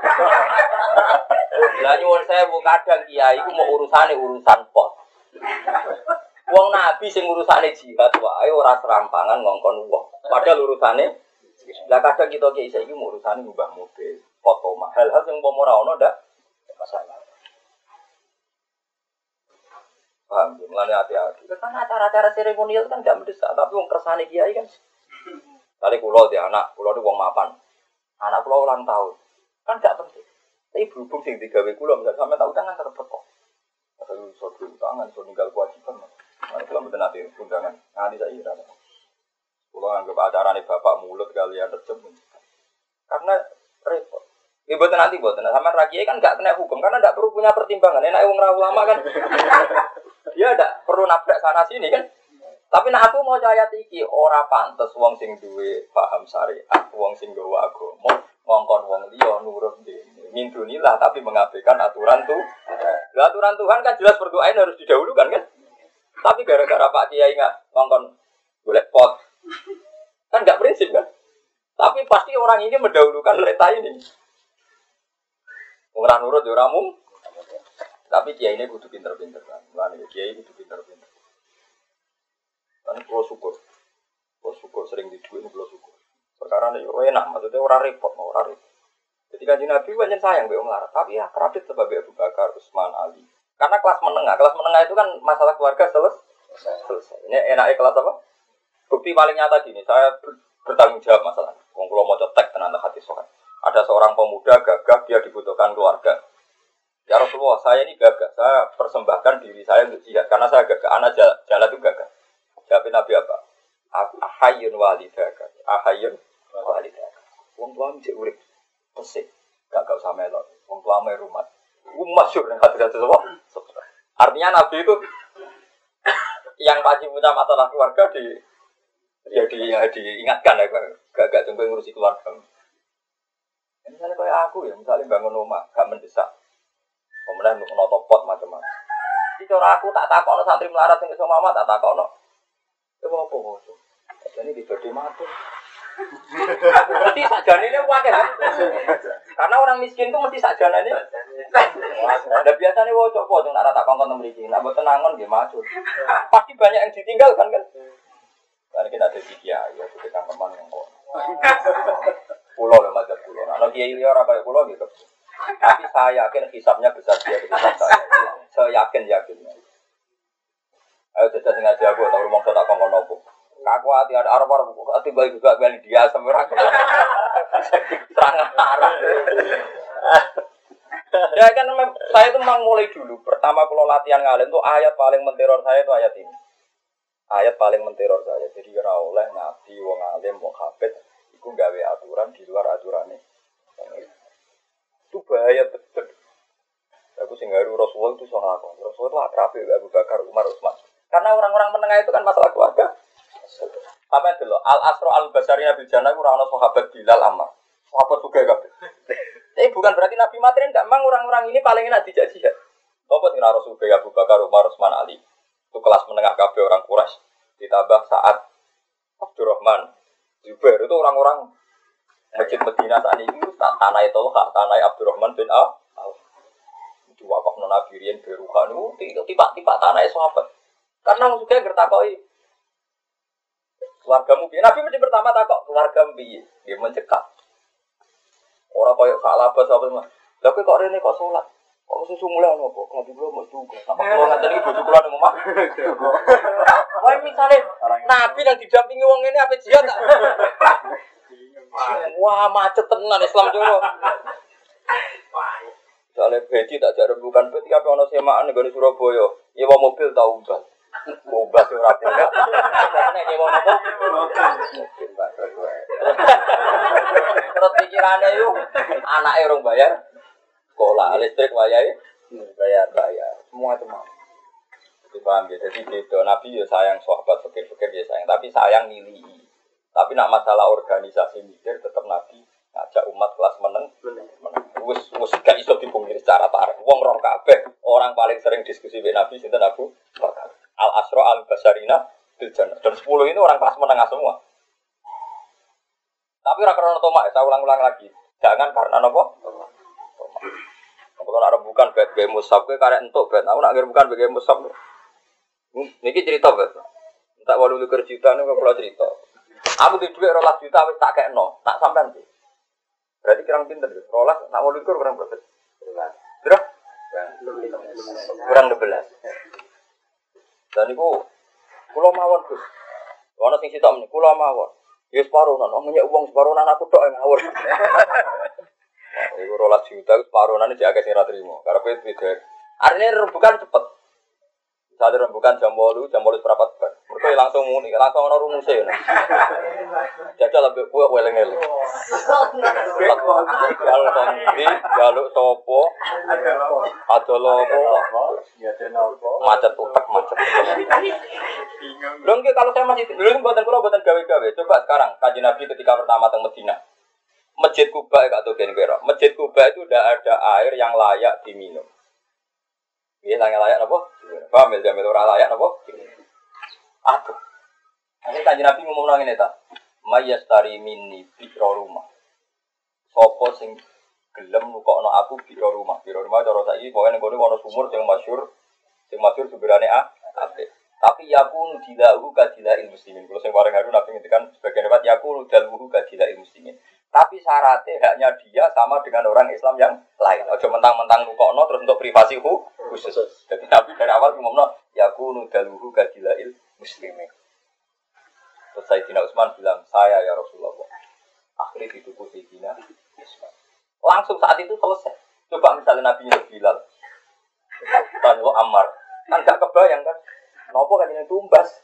Lah nyuwun sewu kadang kiai iku mau urusan pos. Wong nabi sing urusane jihad wae ora serampangan ngongkon wong. Padahal urusane lah kadang kita kiai saiki mau urusane ngubah mobil, foto mahal hal sing umpama ora ono ndak masalah. Paham, mulane hati-hati. Karena acara-acara seremonial kan gak mendesak, tapi wong kersane kiai kan. Kali kula di anak, kula itu wong mapan. Anak kula ulang tahun. Kan gak penting. Tapi berhubung sing digawe kula misalnya sampe tak utang kan tetep teko. Kalau iso diutangan, iso ninggal kewajiban. Nah, kula mboten ate undangan. Nganti saiki ora. Kula anggap acarane bapak mulut kalian rejem. Karena repot. Ya mboten nanti mboten. Sampeyan ra kiai kan gak kena hukum karena ndak perlu punya pertimbangan. Enak wong ra ulama kan. Dia ndak perlu nabrak sana sini kan. Tapi nak aku mau ayat iki ora pantes wong sing duwe paham syariat, wong sing nggawa agama, ngongkon wong liya nurut dene. Mindunilah tapi mengabaikan aturan tuh. Lah aturan Tuhan kan jelas berdoain harus didahulukan kan? Tapi gara-gara Pak Kiai enggak ngongkon golek pot. Kan enggak prinsip kan? Tapi pasti orang ini mendahulukan perintah ini. Ora nurut ya ora mung. Tapi Kiai ini kudu pinter-pinter kan. Lah Kiai kudu pinter-pinter. Kan kalau syukur sering diduit kalau syukur. Perkara ini enak, maksudnya orang repot. Jadi kan Nabi banyak sayang be melarat, tapi ya kerabat sebab Abu Bakar, Utsman, Ali. Karena kelas menengah itu kan masalah keluarga selesai. Ini enaknya kelas apa? Bukti paling nyata gini, saya bertanggung jawab masalah. Wong kula maca teks tenan hati sokan. Ada seorang pemuda gagah, dia dibutuhkan keluarga. Ya Rasulullah, saya ini gagah, saya persembahkan diri saya untuk jihad karena saya gagah, anak jalan itu gagah. Jawabin Nabi apa? Ahayun walidaka. Wong tua mesti urip. Pesik. Gak usah melok. Wong tua me rumah. Masyhur ning hati-hati semua. Artinya Nabi itu yang pasti punya masalah keluarga diingatkan ya. Gak coba ngurusi keluarga. Misalnya kayak aku ya, misalnya bangun rumah, gak mendesak. Kemudian untuk notopot macam-macam. Jadi cara aku tak takut santri melarat yang sama mama tak takut. Itu apa? Jadi diberi mati. Mesti sajane ini wakil kan? Karena orang miskin itu mesti sajane ini. Ada biasanya wocok jangan nak rata kongkong memiliki. Nak buat tenangan dia macul. Pasti banyak yang ditinggalkan kan? Karena kita ada tiga ya, kita teman yang kok. Pulau lah macam pulau. Kalau dia liar apa ya pulau gitu. Tapi saya yakin hisapnya besar dia hisap saya. Saya yakinnya. Ayo jajah sengaja aku tahu rumah tak kongkong nopo. Aku hati ada arah-arah buku, hati baik juga beli dia semua. Serangan arah. Ya kan saya itu memang mulai dulu. Pertama kalau latihan ngalim tuh ayat paling menteror saya itu ayat ini. Ayat paling menteror saya. Jadi kira oleh nabi, wong alim, wong hafid, itu gawe aturan di luar aturannya. Itu bahaya betul. Aku singgaru Rasulullah itu soal aku. Rasulullah akrab Abu Bakar, Umar, Utsman. Karena orang-orang menengah itu kan masalah keluarga. Apa itu loh? Al-Asro al-Basari Nabi Jannah itu orang-orang sahabat Bilal Ammar. Sahabat juga kabeh. Tapi bukan berarti Nabi Matrin enggak, memang orang-orang ini paling enak dijak jihad. Apa sing Rasul Abu Bakar, Umar, Utsman, Ali. Itu kelas menengah kabeh orang Quraisy. Ditambah Sa'ad, Abdurrahman, Zubair itu orang-orang Masjid Medina saat ini tanah itu tanah Abdurrahman bin Auf. Itu wakaf Nabi Rian Berukan itu tiba-tiba tanah sahabat. Karena juga gertakoi keluargamu piye. Nabi mesti pertama takok keluargamu piye. Dia mencekak. Ora koyo salah apa sahabat mah. Lah kok rene kok salat. Kok susu mulai ono kok Nabi kula mesti juga. Sampai kula ngaten iki bojo kula nang omah. Wah misale Nabi yang didampingi wong ini apa jihad tak? Wah macet tenan Islam jero. Soalnya beti tak ada bukan beti apa ono semaan negara Surabaya. Nyewa mobil tau umbas. Umbas ora punya. Nek nyewa mobil. Terus pikirane yo anake urung bayar sekolah, listrik wayahe bayar. Semua itu mau. Dipaham ya. Jadi beda Nabi ya sayang sahabat fikir-fikir ya sayang, tapi sayang nilihi. Tapi nak masalah organisasi mikir tetap Nabi ngajak umat kelas meneng. Wis gak iso dipungkiri secara tarik. Wong roh kabeh, orang paling sering diskusi dengan Nabi sinten Abu Bakar. Al-Asra al-Basarina bil Jannah. Dan 10 ini orang kelas menengah semua. Tapi ora krono tomak, saya ulang-ulang lagi. Jangan karena napa? Kalau nak rebukan bet gawe musab kowe karek entuk bet. Aku nak rebukan bet gawe musab. Niki cerita bet. Tak 28 juta niku kula cerita. Aku di dhuwit 12 juta wis tak kekno, tak sampean iki. Berarti kurang pinter ya. 12 nak 28 kurang berapa? Berapa? Kurang 12. Dan niku kula mawon Gus. Ana sing sitok menika kula mawon. Ya separonan, omongnya uang separonan aku tok ngawur. Iku 12 juta separonan iki akeh sing ra trimo. Karepe beda. Arene rembukan cepet. Misalnya rembukan jam 8 seprapat bar. Mergo langsung muni, langsung ana rumuse ngono. Jajal ambek kowe weleng-eleng. Kalau kondi jaluk sapa? Adolo apa? Macet utek macet. Lho nggih kalau saya masih lho mboten kula mboten gawe-gawe. Coba sekarang Kanjeng Nabi ketika pertama teng Madinah. Masjid Kuba gak tau gen kira. Masjid Kuba itu udah ada air yang layak diminum. Iya, layak apa? Paham ya, jamil ora layak apa? Aduh. Ini Kanjeng Nabi ngomong nang ngene ta. Mayastari minni biro rumah. Sopo sing gelem nukokno aku biro rumah. Biro rumah cara saiki pokoke ning kono ana sumur sing masyhur sumberane apik. Tapi yakunu dilahu kadila'il muslimin. Kalau sing bareng haru Nabi ngendikan sebagian lewat yakunu daluhu kadila'il muslimin. Tapi syaratnya haknya dia sama dengan orang Islam yang lain. Ojo mentang-mentang nukokno terus untuk privasi khusus. Jadi Nabi dari awal ngomongno yakunu daluhu kadila'il muslimin. Terus Sayyidina Utsman bilang, saya ya Rasulullah. Akhirnya dituku Sayyidina Utsman. Langsung saat itu selesai. Coba misalnya Nabi Bilal. Tanwa Ammar. Kan gak kebayang kan. Nopo kan ini tumbas.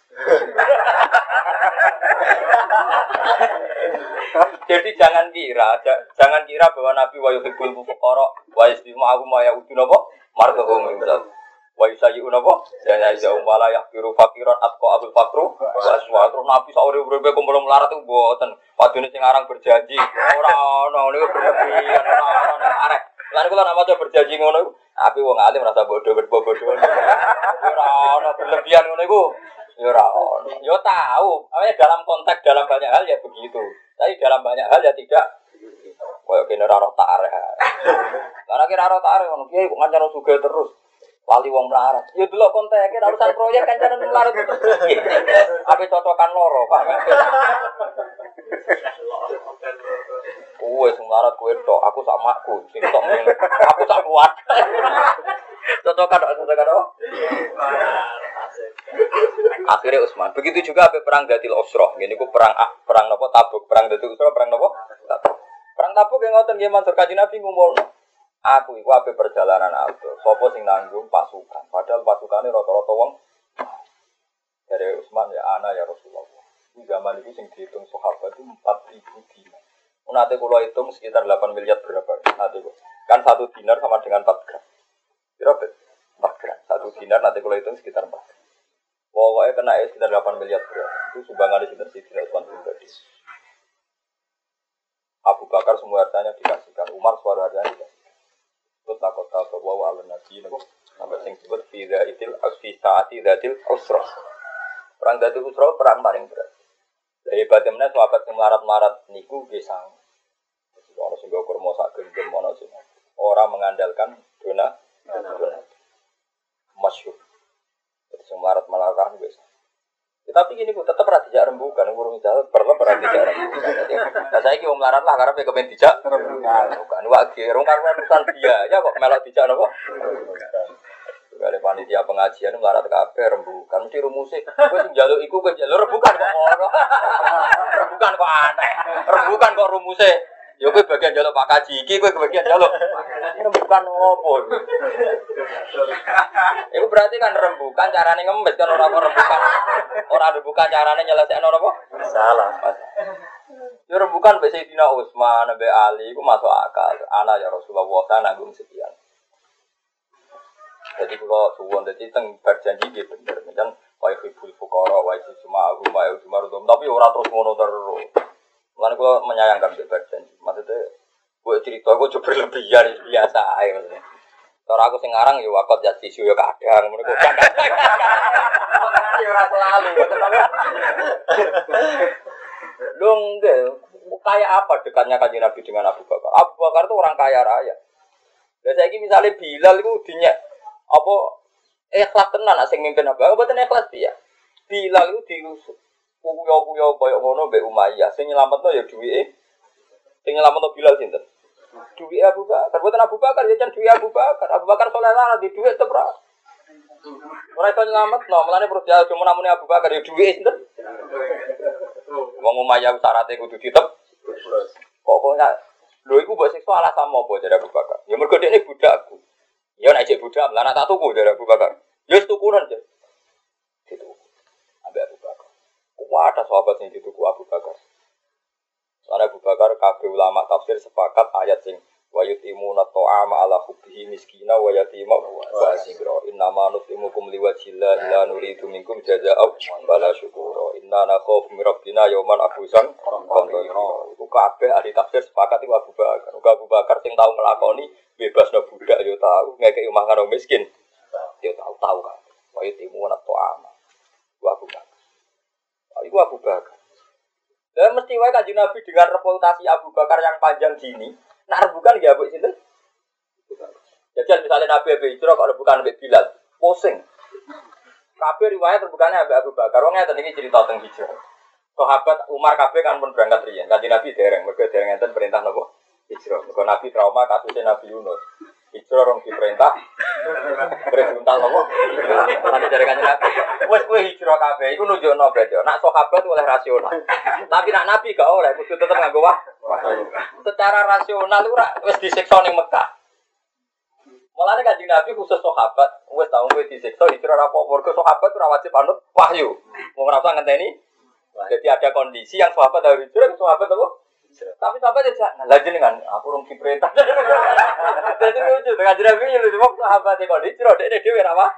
Jadi jangan kira bahwa Nabi wa yuhibbul fuqara wa yaslimu aku ma ya'udu napa marghum misal. Wa yusayyun napa? Ya ya wala yaqiru faqiran atqa abul faqru wa aswa. Terus Nabi sak urip-uripe kumpul melarat itu mboten. Padune sing aran berjanji ora ono niku berlebihan ora ono arek. Lan kula nak maca berjanji ngono iku, api wong alim rasa bodoh. Ora ono berlebihan ngono iku. Ya ora ono. Ya tahu, awalnya dalam konteks dalam banyak hal ya begitu. Tapi dalam banyak hal ya tidak. Kayak kene ora roh tarik. Karena kira roh tarik ngono kiai kok ngancani sugih terus. Wali wong melarat. Ya delok konteke urusan proyek kancanan melarat terus. Ape cocokan loro, Pak. Wes melarat kowe tok, aku sak makku, sing tok ngene. Aku sak kuat. Cocokan tok. Akhirnya Utsman. Begitu juga apa perang Datil Usrah. Ngene iku perang napa Tabuk, perang Datil Usrah, perang napa? Tabuk. Perang Tabuk yang ngoten nggih matur Kanjeng Nabi ngumpulno. Aku iku ape perjalanan aku. Sopo sing nanggung pasukan? Padahal pasukane rata-rata wong. Dari Utsman ya ana ya Rasulullah. Di zaman itu sing dihitung sahabat itu 4.000 dinar. Nanti kalau hitung sekitar 8 miliar berapa? Nanti kan 1 dinar sama dengan 4 gram. Berapa? 4 gram. 1 dinar nanti kalau hitung sekitar 4 gram. Pokoknya kena sekitar 8 miliar berapa. Itu sumbangan di sekitar Sayyidina Utsman pribadi. Abu Bakar semua hartanya dikasihkan. Umar suara hartanya dikasihkan. Terus takut bahwa Allah Nabi Sampai sing disebut fi saati dzatil usra. Perang dzatil usra perang paling berat. Lah hebatnya meneh sahabat sing melarat-melarat niku nggih sang. Ono sing nggo kurma sak gendem ono sing ora mengandalkan dona. Masyhur. Sing melarat-melarat kan wis. Tapi gini, tetap ora dijak rembukan, urung jauh, perlu ora dijak rembukan. Nah saiki wong melarat lah karena pengen dijak rembukan. Bukan wae rong karo urusan biaya kok melok dijak napa? Kali panitia pengajian melarat kabeh rembukan mesti rumuse. Kowe sing njaluk iku kowe njaluk rembukan kok ora. Rembukan kok aneh. Rembukan kok rumuse. Ya kowe bagian njaluk Pak Kaji iki kowe bagian njaluk. Rembukan opo? Iku berarti kan rembukan carane ngemis kan ora rembukan. Ora rembukan carane nyelesekno napa? Salah. Ya rembukan mbek Sayyidina Utsman, mbek Ali iku masuk akal. Ana ya Rasulullah ta nanggung sekian. Jadi kalau suwon jadi teng berjanji dia bener, macam wae hibul fukara, wae cuma rumah, tapi orang terus ngono terus. Mana kalau menyayangkan dia berjanji, maksudnya gue cerita gue coba berlebihan biasa aja maksudnya. Kalau aku sengarang ya wakot ya tisu ya kadang, mereka kadang. Ya orang selalu, dong deh, kayak apa dekatnya Kanjeng Nabi dengan Abu Bakar? Abu Bakar itu orang kaya raya. Dan saya ini misalnya Bilal itu dinyak. Apa ikhlas tenan sing mimpin apa mboten ikhlas piye Bilal itu diusuk kuyo-kuyo koyo ngono mbek Umayyah sing nyelametno ya duwike sing nyelametno Bilal sinten duwike Abu Bakar mboten Abu Bakar ya jan duwike Abu Bakar saleh lah di duwike tetep ora iso nyelametno mulane perlu cuma namune Abu Bakar ya duwike sinten wong Umayyah syaraté kudu ditep pokoknya lho iku mbok siksa alasan apa jare Abu Bakar ya mergo dekne budakku. Ya nek cek budak, lan tak tuku dari Abu Bakar. Ya tukuran aja. Gitu. Ambil Abu Bakar. Kuwata sahabat sing dituku Abu Bakar. Karena Abu Bakar kabeh ulama tafsir sepakat ayat sing wa yutimuna ta'ama ala hubbihi miskina wa yatima wa asira. Innama nutimukum liwajhillah la nuridu minkum jazaa'an wala syukura. Inna nakhafu min rabbina yawman abusan qamtarira. Iku kabeh ahli tafsir sepakat iku Abu Bakar. Abu Bakar sing tau nglakoni bebasno budak yo tahu, ngekeki omah karo miskin. Yo tahu kan. Wa yutimuna ta'ama. Wa Abu Bakar. Iku Abu Bakar. Dan mesti wae Kanjeng Nabi dengan reputasi Abu Bakar yang panjang gini, nak rebukan ya mbok sinten? Jadi misalnya Nabi Abu Hijrah kok rebukan mbek Bilal, pusing. Kabeh riwayat rebukannya mbek Abu Bakar. Wong ngeten iki cerita teng Hijrah. Sahabat Umar kabeh kan pun berangkat riyen. Kanjeng Nabi dereng, mergo dereng enten perintah napa? Hijrah. Mergo Nabi trauma kasusé Nabi Yunus. Hijrah rong diperintah. Perintah napa? Nanti dari Kanjeng Nabi. Wes kowe hijrah kabeh iku nunjukno berarti. Nak sahabat oleh rasional. Tapi nak Nabi gak oleh, kudu tetep nganggo secara rasional ora wis disiksa ning Mekah. Mulane Kanjeng Nabi khusus sahabat, wis tau kowe disiksa hijrah apa mergo sahabat ora wajib anut wahyu. Wong ora usah ngenteni. Jadi ada kondisi yang sahabat harus hijrah, sahabat apa? Tapi sahabat aja lah jenengan aku rung diperintah. Dadi lucu dengan Nabi lu cuma sahabat e kondisi hijrah dekne dhewe ora apa.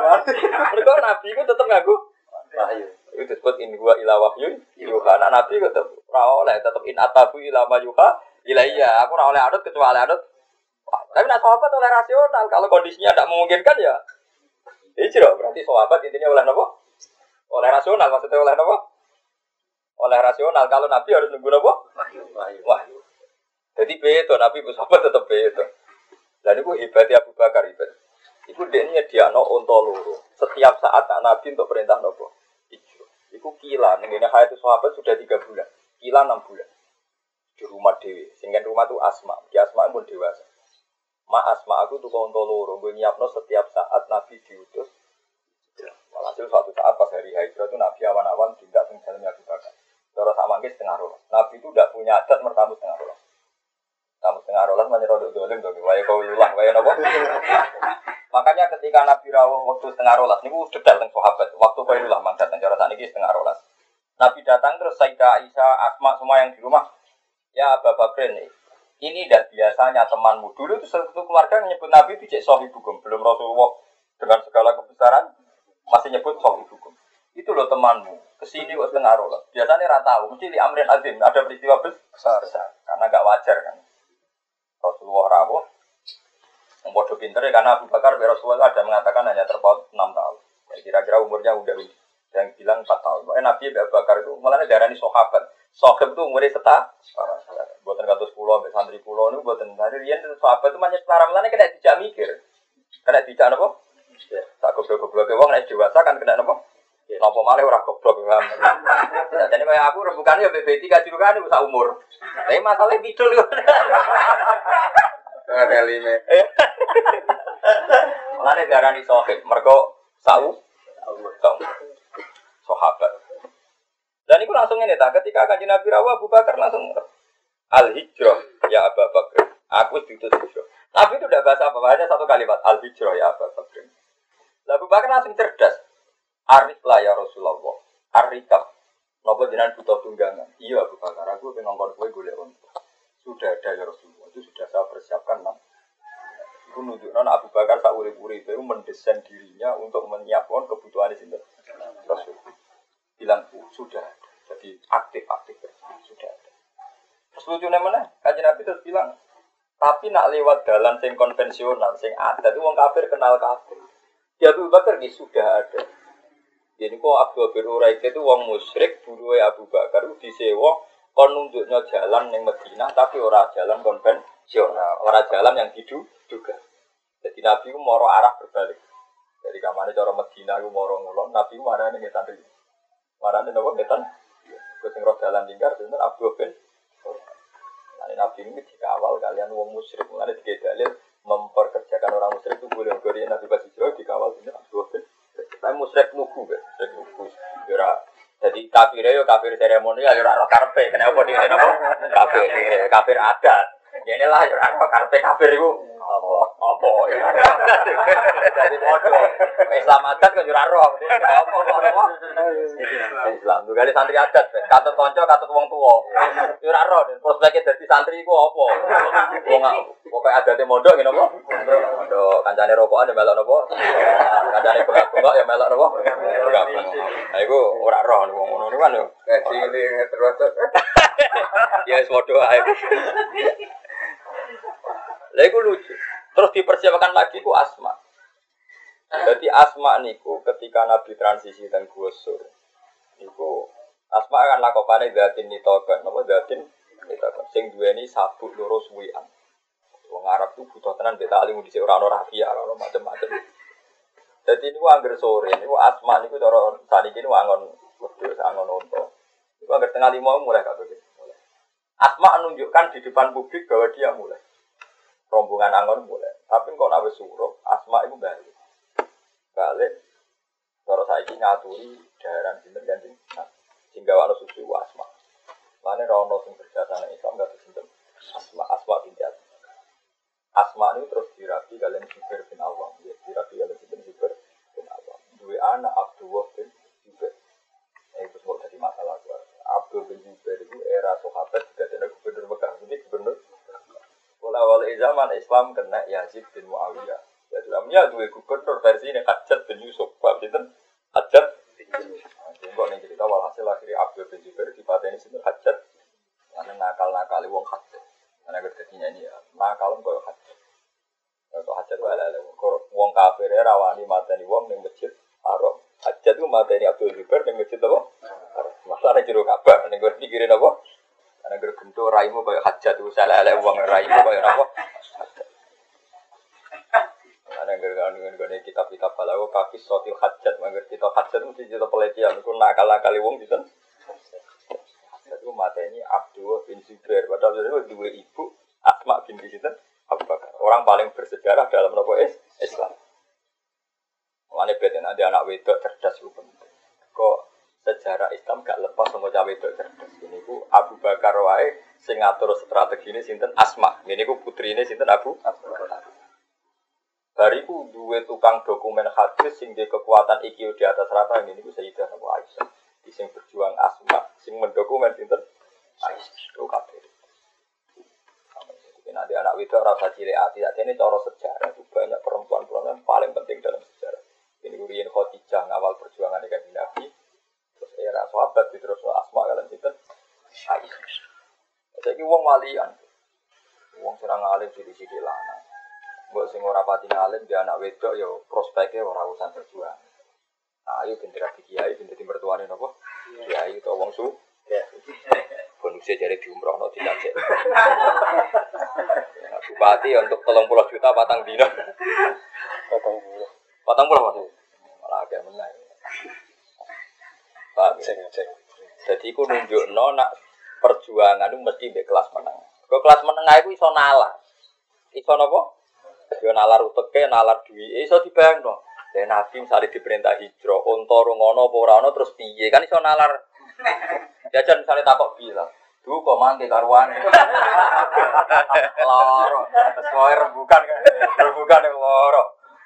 Mergo Nabi ku tetep nganggo wahyu. Itu disebut in huwa ila wahyu yuha. Nabi tetep ora oleh tetep in atabu ila ma yuha ilaiya. Aku ora oleh anut kecuali anut. Tapi nak sahabat oleh rasional. Kalau kondisinya tidak memungkinkan ya hijrah. Berarti sahabat intinya oleh apa? Oleh rasional. Maksudnya oleh apa? Oleh rasional. Kalau Nabi harus nunggu apa? Wahyu. Jadi beto Nabi sahabat tetap beto. Dan itu hebatnya Abu Bakar hebat. Iku dekne diano onto loro. Setiap saat Nabi untuk perintah nopo. Iku kila, ngene hayat sahabat sudah 3 bulan. Kila 6 bulan. Di rumah dewi. Sehingga rumah itu Asma. Di Asma pun dewasa. Asma aku tuh onto loro. Gue nyiapno setiap saat Nabi diutus. Walhasil suatu saat pas hari hijrah itu Nabi awan-awan tidak tinggal jalan Abu Bakar. Terus sama ke setengah rolas. Nabi itu tidak punya adat mertamu setengah rolas. Kamu setengah rolas menyerah dolim dong. Waya kau ulah, waya nopo. Makanya ketika Nabi rawuh waktu setengah rolas, ini detail tentang sahabat. Waktu kau ulah mangkat dan cara saat ini setengah rolas. Nabi datang terus Sayyidah Aisyah, Asma semua yang di rumah. Ya Abu Bakar ini dan biasanya temanmu dulu itu satu keluarga yang menyebut Nabi itu cek sohibukum. Belum Rasulullah dengan segala kebesaran masih nyebut sohibukum. Itu loh temanmu. Kesini kok setengah rolas. Biasanya rata tahu. Mesti di Amrin Azim ada peristiwa besar. Karena gak wajar kan. Rasulullah rawuh. Membuat Waduh pinter ya karena Abu Bakar bin Rasulullah ada mengatakan hanya terpaut 6 tahun. Ya, kira-kira umurnya udah yang bilang 4 tahun. Pokoknya Nabi Abu Bakar itu malah darani sahabat. Sahabat itu umurnya buatan katus pulau, sampai santri pulau ini buatan tadi rian sahabat itu banyak setara melane kena dijak mikir, kena dijak apa? Tak goblok-goblok ke wong nek dewasa kan kena apa? Napa malah ora goblok paham. Jadi kayak aku rebukan ya BB3 kan iku sak umur. Tapi masalahnya bidul yo. Ada lime. Mulane darani sahib, mergo sahabat. Dan itu langsung ini tak ketika Kanjeng Nabi rawuh Abu Bakar langsung al-hijrah ya Abu Bakar. Aku diutus hijrah. Nabi itu tidak bahasa apa, hanya satu kalimat al-hijrah ya Abu Bakar. Abu Bakar langsung cerdas. Arif lah ya Rasulullah. Arikab. Napa jenengan butuh tunggangan? Iya Abu Bakar, aku pengen ngongkon kowe golek unta. Sudah ada ya Rasulullah. Itu sudah saya persiapkan. Itu nunjukkan Abu Bakar sak urip-uripe itu mendesain dirinya untuk menyiapkan kebutuhan sinten Rasul. Bilang sudah ada. Jadi aktif sudah ada. Terus lucunya mana? Kanjeng Nabi terus bilang, tapi nak lewat jalan sing konvensional, sing adat itu wong kafir kenal kafir. Di Abu Bakar ini sudah ada. Jadi kok Abdul bin Uraik itu wong musyrik, buruhe Abu Bakar itu disewa kon nunjuknya jalan yang Madinah tapi ora jalan konvensional, ora jalan yang diduga. Jadi Nabi itu moro arah berbalik. Jadi kamane cara Madinah itu moro ngulon, Nabi itu marane ngetan iki. Marane napa ngetan? Kok sing roh jalan lingkar sinten Abdul bin Uraik. Nah, Nabi ini dikawal kalian wong musyrik, mulane dalil memperkerjakan orang musyrik itu boleh ngori Nabi pas hijrah dikawal sinten Abdul bin. Tapi musyrik nuku kan, musyrik nuku. Jadi kafir seremonial, ora karpe. Kenapa dia kafir adat? Ya inilah kafir itu apa ya? Jadi bodoh. Islam adat kan ora roh. Apa? Islam tuh kali santri adat, katut kanca, katut wong tuwa. Ora roh, prospeknya dadi santri iku apa? Wong pokoke adate mondok ngene apa? Mondok kancane rokokan ya melok napa? Kancane bengak-bengak ya melok napa? Nah iku ora roh wong ngono niku kan yo. Cilik terus. Ya wis padha ae. Lha iku lucu. Terus dipersiapkan lagi ku Asma. Jadi Asma niku ketika Nabi transisi dan Gusur. Niku Asma akan lakopane datin nitokan, napa datin nitokan. Sing duweni sabuk loro suwian. Wong Arab tuh butuh tenan beta alim dhisik ora ono rahasia, ora ono macam-macam. Jadi niku angger sore niku Asma niku cara saniki niku angon wedhus angon unta. Niku angger tengah 5 mulai kabeh. Asma menunjukkan di depan publik bahwa dia mulai. Rombongan angon mulai. Tapi kok nawe suruh, Asma itu balik. Kalau saya ini ngaturi daerah sinten ganti. Sehingga wano suci Asma. Mane rono sing berjasa Islam gak sinten. Asma binti Asma ini terus dirapi kalian Zubair bin Awam. Ya, dirapi kalian sinten Zubair bin Awam. Dua anak Abdullah bin Zubair. Itu semua jadi masalah keluarga. Abdul bin Zubair itu era sahabat juga ada gubernur Mekah. Jadi gubernur awal zaman Islam kena Yazid bin Muawiyah. Ya dalamnya dua gubernur versi ini Hajjaj bin Yusuf. Pak Sinten Hajjaj bin Yusuf. Kok ning cerita walhasil akhirnya Abdul bin Zubair dipateni sinten Hajjaj. Karena nakal-nakali wong Hajjaj. Karena kerjanya ini ya nakal koyo Hajjaj. Kok Hajjaj ala wong kafir rawani mateni wong ning masjid Haram. Hajjaj itu mateni Abdul Zubair ning masjid apa? Masalah jero Ka'bah ning gue pikirin apa? Karena gergento raimu kayak Hajjaj itu salah ala uang raimu kayak apa? Karena gergano kitab-kitab balago kaki sotil Hajjaj, mangger kita Hajjaj mesti cerita pelecehan. Itu nakal-nakal uang gitu. Hajjaj itu mata ini Abdul bin Zubair. Padahal itu dua ibu Asma binti Sinten Abu Bakar. Orang paling bersejarah dalam nopo Islam. Mana beda nanti anak wedok cerdas itu penting. Kok sejarah Islam gak lepas sama cawe wedok cerdas. Ini ku Abu Bakar wae sing ngatur strategi ini sinten Asma. Ini ku putrine sinten Abu Bakar. Bariku duwe tukang dokumen hadis sing duwe kekuatan IQ di atas rata ini ku Sayyidah Abu Aisyah. Di sing berjuang Asma, sing mendokumen sinten Aisyah. Itu kabeh. Nanti anak wedok rasa cilik ati. Ini cara sejarah itu banyak perempuan-perempuan yang paling penting dalam sejarah. Ini ku riyen Khadijah ngawal perjuangan dengan Nabi. Era sahabat terus Asma kalian sinten Aisyah. Saiki wong walian. Wong serang alim sithik-sithik lanang. Mbok sing ora pati ngalim dia anak wedok ya prospeknya ora urusan berjuang. Nah, ayo ben dadi kiai, ben dadi mertuane napa? Kiai utawa wong su. Bonusnya jadi diumrohno dicacek. Bupati untuk 30 juta patang dino. Patang puluh Mas. Malah agak menang. Pak, jadi aku nunjukno nak perjuangan itu mesti mbek kelas menengah. Kok kelas menengah itu iso nalar. Iso napa? Yo nalar uteke, nalar duwike iso dibayangno. Lah Nabi misalnya diperintah hijrah, unta rungono apa ora ono terus piye? Kan iso nalar. Jajan misalnya takok bilang, "Duh kok mangke karuane." Loro. Terus rembukan kan. Rembukan yang loro.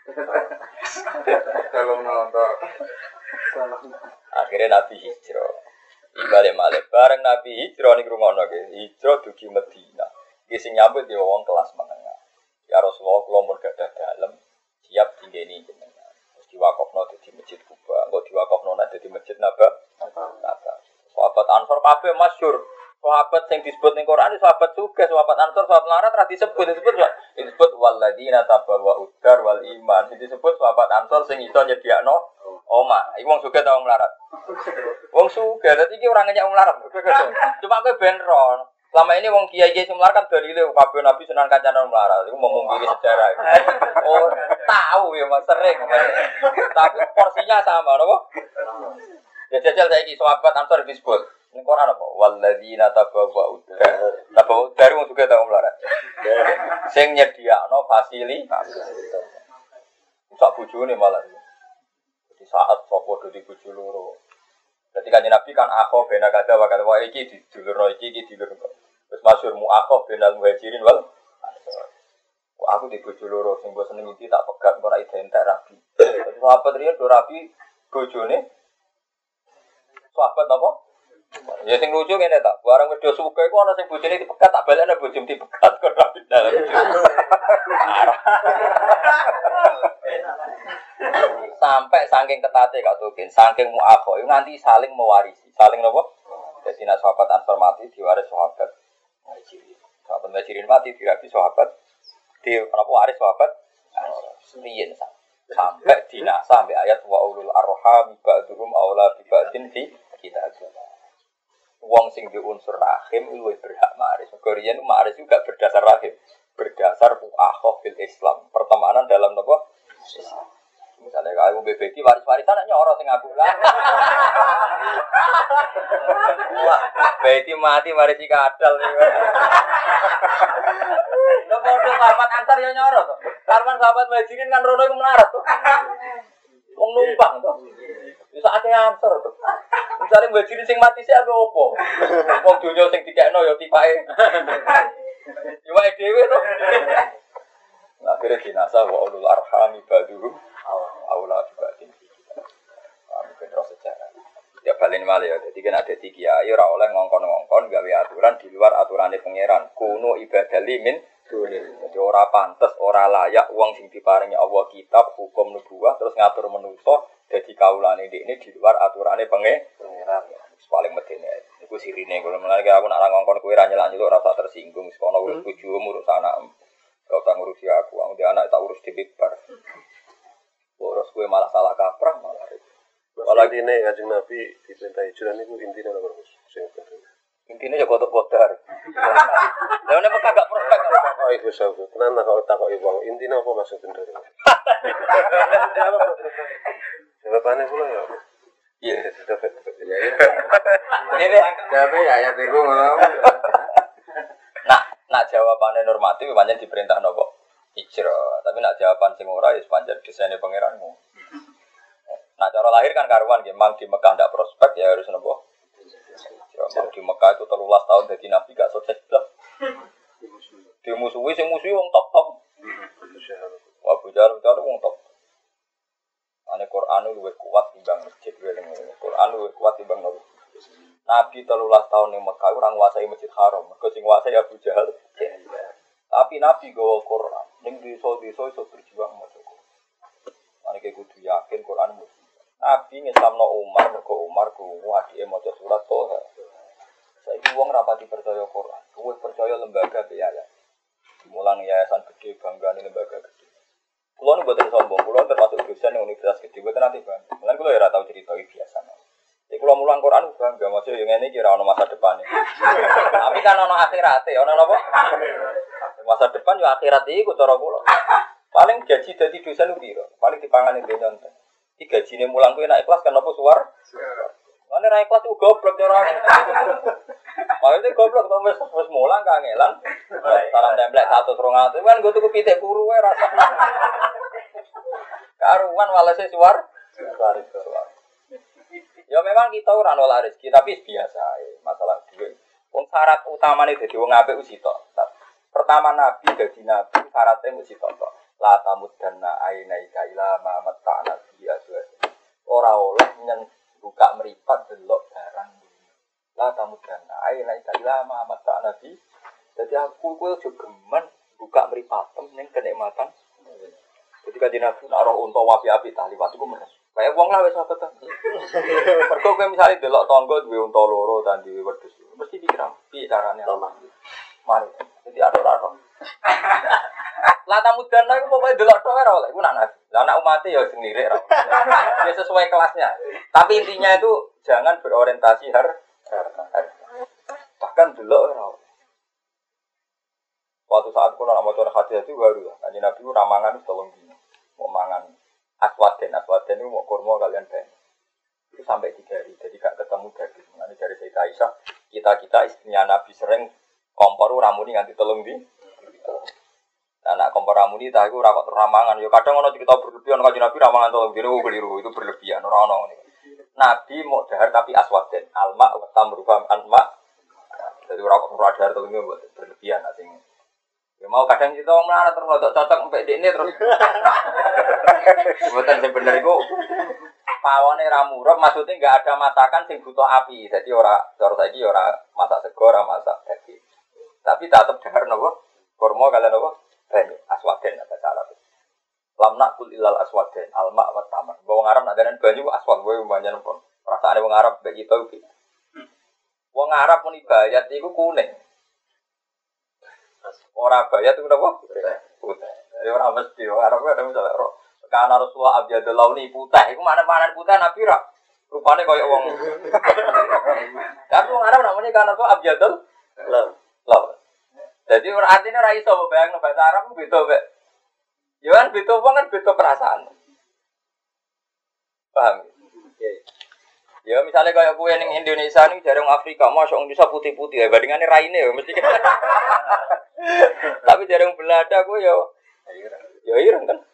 Kalau nonton. Akhirnya Nabi hijrah. Balik-balik bareng Nabi hijrah ning rungono nggih. Hijrah dugi Madinah. Iki sing nyambut ya wong kelas menengah. Ya Rasulullah kula mun gadah dalem siap dinggeni jenengan. Wis diwakofno dadi Masjid Kuba, engko diwakofno dadi Masjid Nabawi. Sahabat Ansor kabeh masyhur. Sahabat sing disebut ning Quran sahabat sugih, sahabat Ansor, sahabat Larat ra disebut walladzina tabawwa udar wal iman. Disebut sahabat Ansor sing iso nyediakno omah. Iku wong sugih ta wong larat. Wong sugih, dadi iki ora ngenyek wong larat. Cuma kowe ben ro. Selama ini wong kiai-kiai sing melarat kan dalile kabeh nabi senang kancane wong melarat. Iku mungkiri sejarah. Oh, tahu ya Mas sering. Tapi porsinya sama, napa? Ya jajal saiki sahabat Ansor disebut. Ning Quran apa? Walladzina tabawwa udar. Tabawwa udar wong sugih ta wong melarat. Sing nyediakno fasilitas. Sak bojone malah. Di saat sapa dadi bojo loro. Jadi kan Nabi kan akho bena kada wa kada wa iki didulurno iki dilurno. Wis masyhur mu akho benal muhajirin wal aku di bojo loro sing mbok seneng iki tak pegat ora identik rabi. Dadi sahabat riyen do rabi bojone sahabat apa? Ya sing lucu ngene ta, barang wedho suka iku ana sing bojone dipegat tak balekne bojone dipegat kok rabi dalam. Sampai saking ketate Kak Tukin, saking muakho itu nanti saling mewarisi, saling nopo. Jadi nak sahabat Ansor mati diwaris sahabat Muhajirin. Sahabat Muhajirin mati diwaris sahabat di nopo waris sahabat Riyen sampai dinasa sampai ayat wa ulul arham ba'dhum aula bi ba'din fi kitabillah. Wong sing di unsur rahim luwih berhak maris. Riyen maris juga berdasar rahim, berdasar muakho fil Islam, pertemanan dalam nopo Islam. Misalnya kalau BBT waris-warisan nyoro sing aku lah. Wah, BBT mati mari kadal nih. Lo bodoh sahabat antar ya nyoro tuh. Karena sahabat Muhajirin kan rono iku melarat tuh. Wong numpang tuh. Bisa ada ansor tuh. Misalnya Muhajirin sing mati sih ada opo. Wong dunya sing dikekno ya tipake. Iwake dhewe tuh. Akhirnya dinasa wa ulul arham ba'dhum aula dibanding kita. Mungkin terus sejarah. Ya balen malih ya. Jadi kan ada tiga kiai ora oleh ngongkon-ngongkon gawe aturan di luar aturane pangeran. Kuno ibadah limin. Jadi ora pantes, ora layak wong sing diparingi Allah kitab, hukum nubuwah terus ngatur manusa dadi kaulane ndekne di luar aturane pangeran. Paling medene. Iku sirine kula mulane aku nak ngongkon kowe ra nyelak-nyeluk ora usah tersinggung. Wis kono urus bojomu urus anakmu. Kau tak ngurusi aku dia anak tak urus di bar. Urus gue malah salah kaprah malah. Masalah ini Kanjeng Nabi diperintah hijrah niku intine lho Mas. Intine ya kotor-kotor. Lah nek kagak prospek kok iku sabu. Tenan kok takoki wong intine apa maksud bener. Jawabane kula ya. Iya, dapat. Ini Tapi ya iku ngono. Nak jawabannya normatif pancen diperintah nopo hijrah, tapi nak jawaban sing ora wis pancen desaine pangeranmu. Nah cara lahir kan karuan nggih, mang di Mekah ndak prospek ya harus nopo. Mang di Mekah itu 13 tahun dadi nabi gak sukses blas. Dimusuhi sing musuhi wong top-top. Abu Jahal wong top. Ane Quran luwih kuat timbang masjid Quran luwih kuat timbang nopo. Nabi 13 tahun ning Mekah ora nguasai Masjid Haram, mergo sing nguasai Abu Jahal. Tapi Nabi gawa Quran, ning desa-desa iso berjuang maca Quran. Maneke kudu yakin Quran mesti. Nabi ngesamno Umar, mergo Umar krungu adike maca surat Toha. Saiki wong rapati percaya Quran, kuwi percaya lembaga biaya. mulang yayasan gede, bangga nih lembaga gede. Kulo nu mboten sombong, kulo termasuk dosen yang universitas gede, mboten nanti bangga. Mulane kulo ya ora tau cerita biasa. Jadi kulo mulang Quran bangga, maksudnya yang ini kira ono masa depan. Tapi kan ono akhirate, ono apa? Masa depan yo akhirat iku cara kulo. Paling gaji dadi dosen piro? Paling dipangani donya enten. Iki gajine mulang kuwi nek ikhlas kan apa suwar? Mane ra ikhlas ku goblok cara. Maksudnya goblok to wis mulang kangelan. Salam templek 100 200 kan nggo tuku pitik puru wae rasa. Karuan walase suwar. Ya memang kita ora nolak rezeki tapi biasa masalah duit. Wong syarat utamane dadi wong apik wis sitok. Pertama nabi dadi nabi syaratnya mesti tok. La tamuddanna ainaika ila ma mata'na bi azwaj. Ora oleh buka meripat delok barang dunia. La tamuddanna ainaika ila ma mata'na bi. Dadi aku kuwi aja geman buka meripatem ning kenikmatan. Jadi kan nabi nek ora unta wapi-api tah liwat iku meres. Kayak wong lah wis apa ta. Mergo kowe misale delok tangga duwe unta loro ta duwe wedhus. Mesti dikira piye carane Allah. Mari. Jadi ora-ora. Lah tamudana iku pokoke delok tok ora oleh, iku nak nabi. Lah anak umat ya sing lirik ra. Ya sesuai kelasnya. Tapi intinya itu jangan berorientasi harta. Bahkan delok ora oleh. Waktu saat kula nak maca hadis itu baru ya. Kanjeng Nabi ramangan wis tolong dino. Mau mangan aswaden itu mau kurma kalian ben. Itu sampai 3 hari. Jadi gak ketemu daging. Nanti dari Sayyidah Aisyah, kita istrinya Nabi sering kompor ramuni nganti telung di. Anak kompor ramuni ta iku ora kok ramangan. Ya kadang ana cerita berlebihan kanjeng Nabi ramangan telung dino keliru, itu berlebihan ora ono ngene. Nabi mau dahar tapi aswaden, alma wa tamruham anma. Jadi ora kok ora dahar telung dino berlebihan asing. Ya mau kadang kita wong melarat terus cocok empek dekne terus. Mboten sing bener iku pawone ra murub maksudnya enggak ada masakan sing butuh api. Jadi ora cara saiki ora masak sego ora masak daging. Tapi tetep dahar napa? Kurma kalian napa? Banyak aswaden ada cara. Lam nakul ilal aswaden alma wa tamar. Wong Arab nak daran banyu aswad wae banyak pun. Rasane wong Arab mek kita iki. Wong Arab muni bayat iku kuning. Ora bayat itu napa? Putih. Jadi ora mesti Arab ada misalnya karena Rasulullah abyadul launi putih. Iku mana-mana putih Nabi ra. Rupane koyo wong. Kan wong Arab namanya karena Rasulullah abyadul laun. Jadi ora artine ora iso bayangno bahasa Arab ku beda mek. Ya kan beda wong kan beda perasaan. Paham? Ya misalnya kayak kue ning Indonesia nih jarang Afrika, masuk Indonesia putih-putih ya bandingannya raine ya mesti. Tapi jarang Belanda kue ya ireng kan.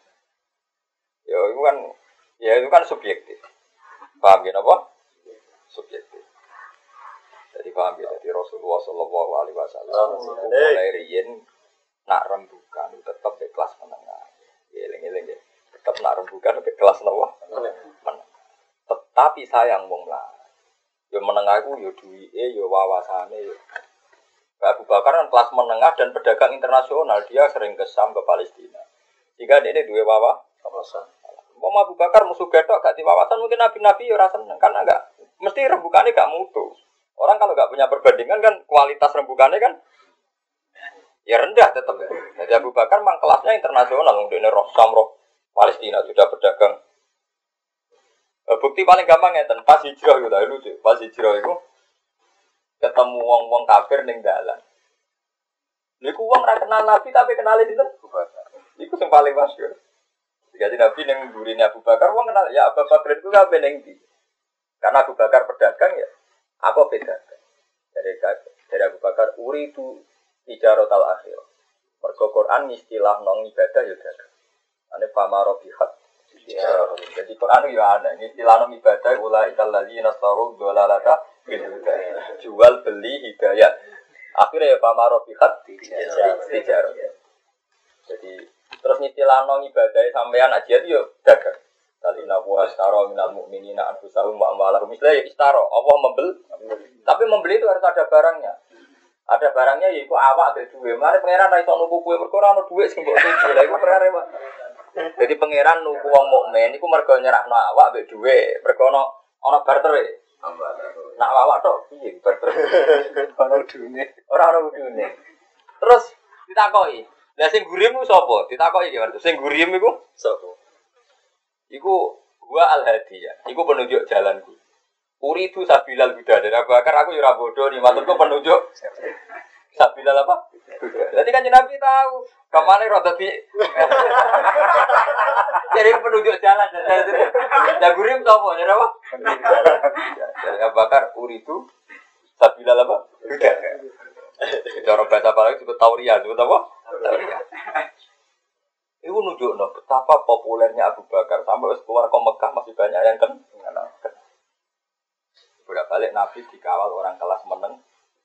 Ya itu kan subjektif. Paham ya apa? Subjektif. Jadi paham ya dari Rasulullah Shallallahu Alaihi Wasallam mulai riyen nak rembukan tetap di kelas menengah. Eling-eling ya. Tetap nak rembukan di kelas menengah. Tetapi sayang wong lah. Ya menengah iku ya duwike ya wawasane ya. Abu Bakar kan kelas menengah dan pedagang internasional, dia sering ke Syam ke Palestina. Jika dia duwe wawasan. Wong Abu Bakar musuh gedok gak di wawasan mungkin nabi-nabi ya ora seneng karena enggak mesti rembukane gak mutu. Orang kalau enggak punya perbandingan kan kualitas rembukane kan ya rendah tetap. Jadi Abu Bakar mang kelasnya internasional, wong dene roh Syam roh Palestina sudah pedagang. Bukti paling gampang ngeten, pas hijrah yo lha lucu. Pas hijrah iku ketemu wong-wong kafir ning dalan. Niku wong ra kenal Nabi tapi kenale sinten? Abu Bakar. Iku sing paling masyhur. Jadi Nabi ning gurine Abu Bakar wong kenal ya Abu Bakar itu kabeh ning ndi. Karena Abu Bakar pedagang ya, apa pedagang. Dari Abu Bakar uridu ijaratal akhir. Mergo Quran istilah nang ibadah ya dagang. Ane pamaro bihat. Jadi Quran itu ada. Ini istilah ibadah ulai kalladzina saru dolalata jual beli hidayah. Akhirnya ya pamaro bihat tijar. Jadi terus istilah ibadah sampean aja itu dagang. Talina wa astaro minal mu'minina anfusahum wa amwalahum. Misalnya istaro, Allah membeli. Tapi membeli itu harus ada barangnya. Ada barangnya yaitu awak ada duit. Mari pangeran ra iso nuku kuwe mergo ora ono duit sing mbok tuku. Lha iku perkara Pak. Jadi pangeran nuku wong mukmin iku mergo nyerahno awak mbek dhuwit, mergo ana bartere. Nak awak tok piye barter? Ora udune. Ora ono udune. Terus ditakoki, Lah sing gurim ku sapa? Ditakoki iki, sing gurim iku Sapa? iku gua al-hadiyah. Iku penunjuk jalanku. Uridu sabilal huda. Dan Abu Bakar aku yo ora bodoh nih, maturku penunjuk sabilal apa? Huda. Berarti kan Nabi tahu kemana rada di jadi penunjuk jalan. Dan gurim sapa? Jadi apa? Dari Abu Bakar uridu sabilal apa? Huda. Cara bahasa apa lagi disebut tauriyah, disebut apa? Tauriyah. Itu nunjukno betapa populernya Abu Bakar sampai keluar ke Mekah masih banyak yang kenal. Bolak-balik Nabi dikawal orang kelas meneng.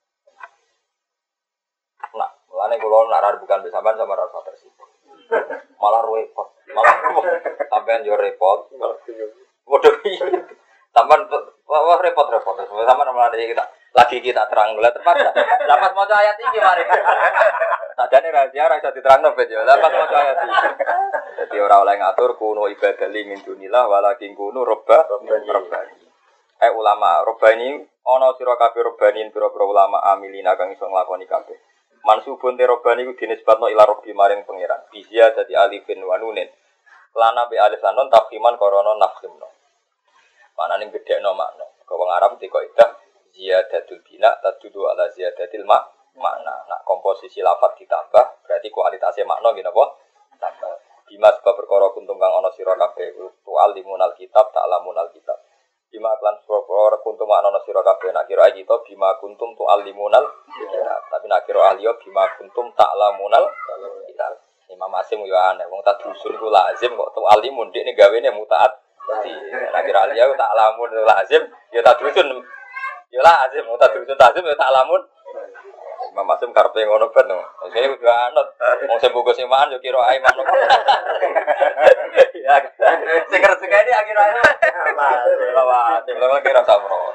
Nah, mulane kula nak bukan besaman sama rasa tersibuk. Malah repot, sampean yo repot. Bodoh iki. Sampean wah repot-repot. Sampean mulane kita terang lah terpaksa. Lapas maca ayat iki mari. Sadane rahasia ra iso diterangno ben yo. Lapas maca ayat iki. Dadi ora oleh ngatur kuno ibadali min dunillah walakin kuno robbani. Ulama robani ana sira kabeh robanin pira-pira ulama amilina kang iso nglakoni kabeh. Mansubun te robani ku dinisbatno ila robbi maring pangeran. Bizia dadi alifin wa nunin. Lana bi alif lan nun tafhiman korona nafhimno. Manane gedhekno makna. Kok wong Arab dikok idah ziyadatul bina tadudu ala ziyadatil makna. Nak komposisi lafaz ditambah berarti kualitasnya makna nggih napa? Tambah. Bima sebab perkara kuntum kang ana sira kabeh tu'allimunal kitab ta'lamunal kitab. Bima klan sura kuntum ana sira kabeh nak kira kita bima kuntum tu'allimunal kitab. Tapi nak kira ahliya bima kuntum ta'lamunal kitab. Imam Asim yo aneh wong tadrusun iku lazim kok tu'allimun dekne gawene mutaat. Nak kira ahliya ta'lamun lazim ya tadrusun. Ya lazim tadrusun lazim ya ta'lamun. Imam Asim karepe ngono ben. Sing kudu anut. Wong sing buku simaan yo kira ae manuk. Ya. Sing rezekane akhir-akhir. Lawat, lawat kira sabro.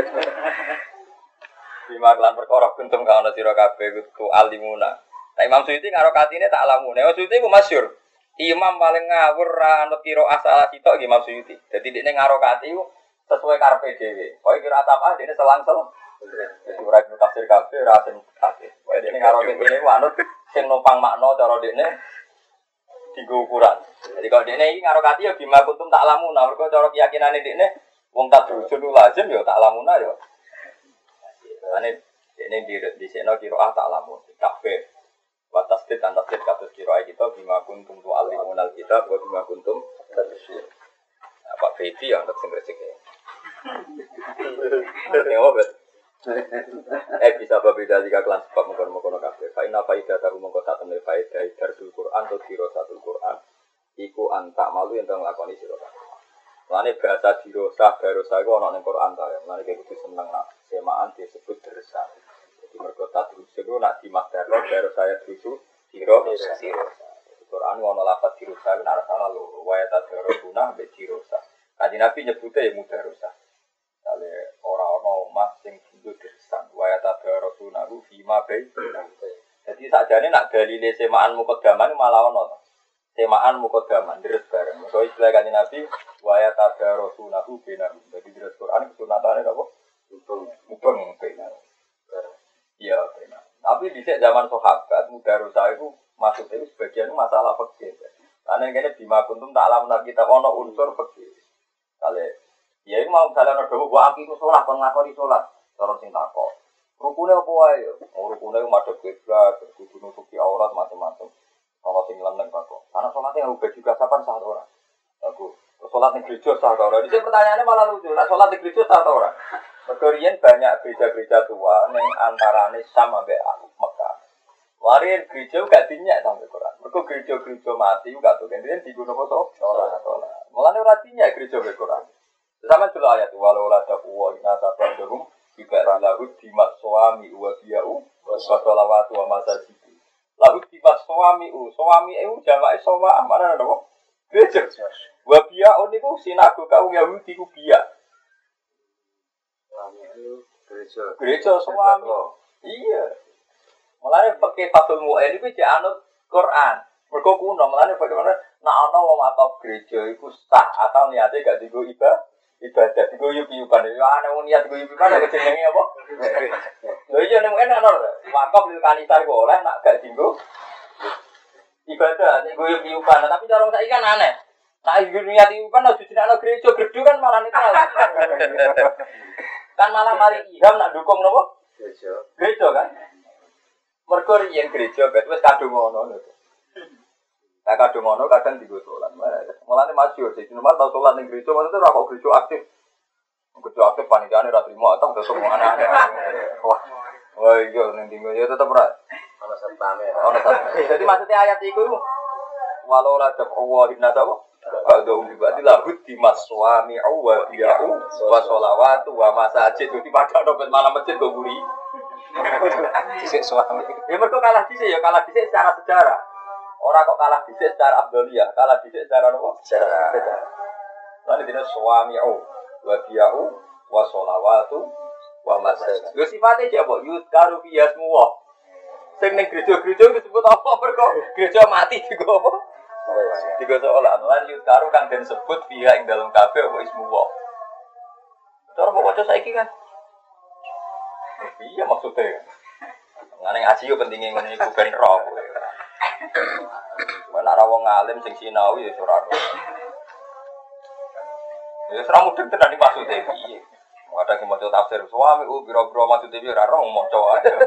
Bima kelan perkara kuntum kana sira kabeh kudu alimuna. Nah Imam Suyuti karo katine tak alamune. Suyuti ku masyhur. Imam paling ngawur ra anut kira asal sitok Imam Suyuti. Dadi dekne ngaro kati sesuai karepe dhewe. Kowe kira apa dekne selangsel. Jadi ora kudu tafsir kabeh ora sing tafsir. Kowe dekne ngaro kene ku anut sing numpang makna cara dekne digo ukuran. Jadi kalau dekne iki ngaro kati ya bima kuntum tak alamuna. Mergo cara keyakinane dekne wong tak drusun lazim ya tak alamuna ya. Ane dekne disekno kira tak alamun. Kabeh batas tit dan tasdid kados kira kita bima kuntum tu alimunal kitab wa bima kuntum tadsyir. Nah, Pak Fedi yang tak sing rezeki. Bisa berbeda jika kelan sebab mengkono kabeh. Fa inna faidatahu mongko satene faedah darsul Quran atau dirasatul Quran iku antak malu yen nglakoni sira kabeh. Lane bahasa dirosah barosah iku ana ning Quran ta. Lane kudu seneng nak semaan disebut dersa. Jadi mergo tadrus iku nak dimakdarno baru saya drusu dirosah. Quran ana lafaz dirosah nek salah lho wa tadrusuna be dirosah. Kanjeng Nabi nyebute ya mudarosah. Kale ora ana omah sing dienggo dersan wa tadrusuna ku fima bai. Jadi sakjane nak dalile semaan muqaddaman malah ana to. Semaan muqaddaman deres bareng. So istilah Kanjeng Nabi wa tadrusuna ku benar. Jadi deres Quran kesunatane apa? Mubeng benar. Iya benar. Tapi di zaman sahabat mudarosah itu maksudnya itu sebagian masalah fikih. Karena ini bima kuntum tak alam kita ono unsur fikih. Kale ya ini mau misalnya ada wa aqimus shalah kon ngakoni salat cara sing takok. Rukune apa wae? Rukune madhep kiblat, kudu nutupi aurat macam-macam. Kalau sing leneng kok. Karena salatnya ubah juga kapan sah ora? Aku salat ning gereja sah ora? Iki pertanyaannya malah lucu. Lah salat ning gereja sah ora? Mergorian banyak gereja-gereja tua yang antarane sama sampai Mekah. Warin gereja gak dinyak sampai Quran. Mergo gereja-gereja mati gak tuh. Kemudian digunakan kok sholat. Mulane ora dinyak gereja sampai Quran. Sama juga ayat walau la taqwa inna sabadhum juga lahu dimat suami wa biyau wa sholawatu wa masajid. Lahu dimat suami jamae sama mana napa? Gereja. Wa biyau niku sinagoga Yahudi ku biya. Gereja suami. Iya. Mulane pakai Fathul Mu'in iku jek anut Quran. Mergo kuno, mulane bagaimana nek ana wong atau gereja iku sah atau niate gak digo ibadah digo yup-yupan. Ya ana wong niat digo yup-yupan kok jenenge apa? Lho iya nek ana wakaf lil kanisa iku oleh nak gak digo ibadah, nek gue piupan, tapi cara saiki kan aneh. Nah, niat piupan ojo dinakno gereja, gedhu kan malah netral. Kan malah mari iham nak dukung napa? Gereja. Gereja kan. Mergo riyen gereja wis kadung ngono lho. Nah kadung ngono kadang digo salat. Mulane masyhur sih, normal tau salat ning gereja, maksudnya ora kok gereja aktif. Gereja aktif panitiane ra trimo atau tetep aneh-aneh. Wah, iya ning dinggo ya tetep ora ana satpame. Ana satpame. Jadi maksudnya ayat iku walau la taqwa inna tawa ba'dhum bi ba'dil lahud dimaswami wa biya'u wa sholawatu wa masajid. Jadi padha dompet malam masjid go guri. Dhisik suami. Ya mergo kalah dhisik ya kalah dhisik secara sejarah. Ora kok kalah dhisik secara abdoliyah, kalah dhisik secara apa? Secara. Lan dene suami wa biya'u wa sholawatu wa masajid. Lho sifate apa? Yuzkaru fi yasmuwa. Sing ning gereja-gereja disebut apa mergo gereja mati digo apa? Digo salat. Lan yuzkaru kang den sebut fiha ing dalem kabeh apa ismuwa. Cara kok waca saiki kan? Iya maksudnya. Ngene ngaji yo pentinge ngene iku ben ro. Ora wong alim sing sinau ya ora ro. Ya ora mudeng tenan iki maksude piye. Ada yang mau tafsir suami, biro-biro maksudnya biar orang mau coba aja.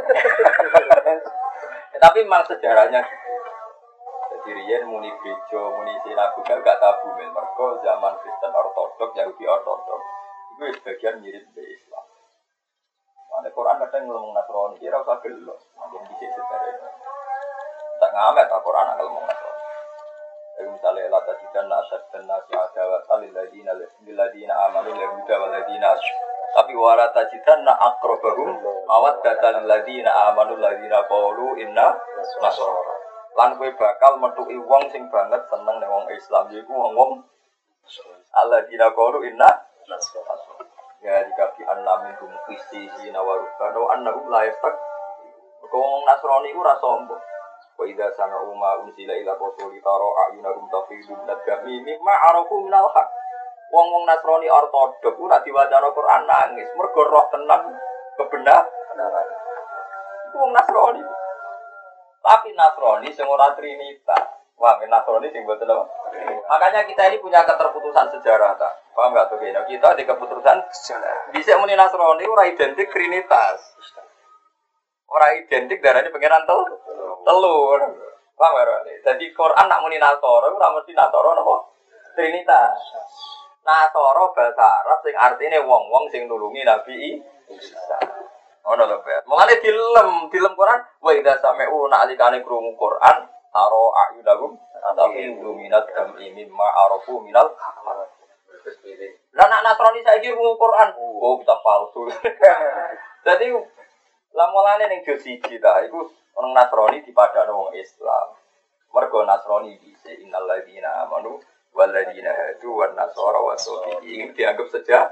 Tapi memang sejarahnya, jadi riyen muni gereja, muni sinagoga gak tabu men. Mergo zaman Kristen Ortodok, Yahudi Ortodok, itu sebagian mirip dari Islam. Mana Quran kadang ngomong Nasrani, kira usah gelo, mungkin bisa sejarah. Tak ngamet tak Quran ngomong Nasrani. Jadi misalnya la tajidanna asyaddanna nasi adawatan lil ladina amanu yahuda wal ladina tapi wala tajidanna aqrabahum mawaddatan lil ladina amanu ladina qalu inna nasara. Lan kowe bakal metuki wong sing banget seneng ning wong Islam yaiku wong alladina qalu inna nasara. Ya dikapi annaminhum qissina wa rubbana annahum la yastaq. Wong Nasrani iku ora sombong. Wa idza sami'u ma unzila ila rasuli tara a'yunahum tafidu minad-dami mimma arafu minal haq. Wong-wong Nasrani Ortodok ku nek diwaca Al-Qur'an nangis mergo roh tenan kebenaran. Iku wong Nasrani. Tapi Nasrani sing ora Trinitas. Wah, Nasrani sing mboten apa? Makanya kita ini punya keterputusan sejarah ta. Paham enggak tuh kene? Kita di keputusan sejarah. Dhisik muni Nasrani ora identik Trinitas. Ora identik darane pangeran telur. Paham ora? Jadi Quran nak muni Nasara ora mesti Nasara napa? Trinitas. Nasara bahasa Arab sing artine wong-wong sing nulungi Nabi Isa. Ono lho, Pak. Mulane dilem Quran wa idza sami'u na'likane krungu Quran taro a'yunahum tafidu minad dam'i mimma arafu minal haq. Lah nak Nasrani saiki krungu Quran, oh kita palsu. Jadi lah mulane ning juz 1 ta iku orang Nasrani dipadakno wong Islam. Mergo Nasrani dise innal ladina amanu wal ladina hadu wan nasara wasofi dianggap saja.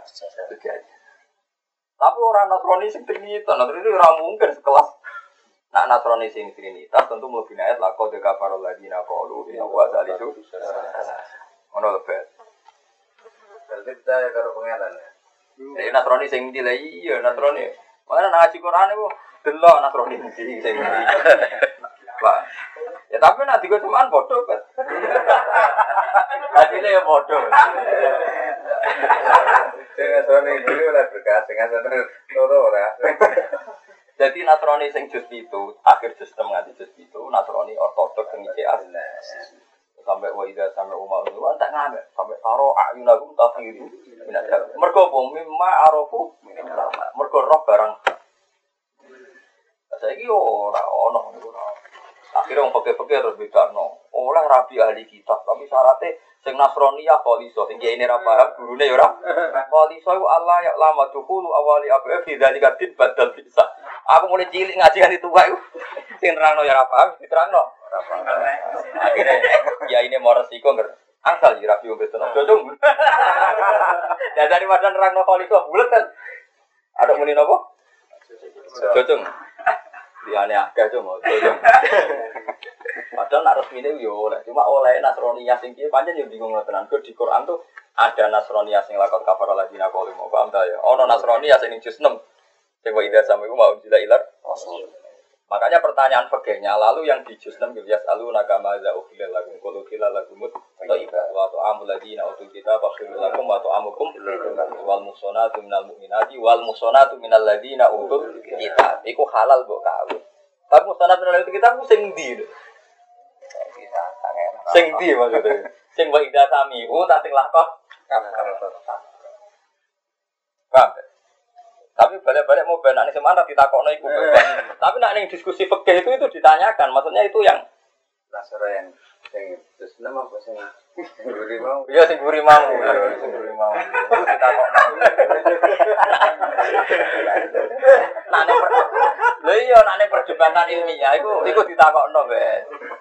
Tapi orang Nasrani sing Trinitas, Nasrani ora mungkin sekelas. Nak Nasrani sing Trinitas tentu mlebu ayat laqad kafarul ladina qalu inna wa salisu. Ono lebet. Berarti kita karo pengenan. Nasrani sing ndi lha iya Nasrani. Mana ngaji Quran itu delok Nasrani iki sing ndi. Pak. Ya tapi nek digo cuman bodoh kan. Hasilnya ya bodoh. Sing Nasrani iki ora berkah, sing Nasrani loro ora. Jadi Nasrani sing juz itu, akhir juz 6 nganti juz itu Nasrani Ortodok sing iki asli. Sampai wa idza sami'u ma unzila tak ngamek sampai taro ayunahum tafidu minad dam. Mergo apa mimma arafu mergo roh barang. Saiki ora ono ngono. Akhire wong peke-peke terus bedakno. Oleh rabi ahli kitab tapi syaratnya sing Nasraniyah kholiso sing kiye ra paham gurune ya ora. Kholiso iku Allah ya lama dukhulu awali apa fi dzalika tin badal bisa. Aku mulai cilik ngaji kan itu wae. Sing nerangno ya ora paham diterangno. Ora paham. Akhire ya ini mau resiko nger. Angsal ya rabi wong beton. Jojong. Ya dari wadah nerangno kholiso bulet kan. Ada muni napa? Jojong. Liyane akeh cuma jojong. Padahal nak resmine yo oleh, cuma oleh Nasroniyah sing piye pancen yo bingung tenan. Di Quran tuh ada Nasroniyah sing lakon kafara ladina qalu mau paham ta ya. Ono Nasroniyah sing juz 6. Sing wa idza sami'u ma unzila ilar rasul. Makanya pertanyaan fikihnya lalu yang di juz 6 ya selalu nagama za ukhilal lakum qul ukhilal lakumut thayyibat wa ta'amul ladina utul kitab fakhirul lakum wa ta'amukum wal muhsanatu minal mu'minati wal muhsanatu minal ladina utul kitab iku halal mbok kawin. Tapi muhsanatu minal kitab ku sing ndi? Sing ndi maksudnya? Sing wa ida sami tak sing lakon. Paham? Tapi balik-balik mau benar nih semana ditakokno iku. Tapi nak ning diskusi fikih itu ditanyakan, maksudnya itu yang nasara yang terus nama apa sing guri mau. Iya sing guri mau, sing guri mau. Ditakokno. Lha iya nak perdebatan ilmiah iku ditakokno, Ben.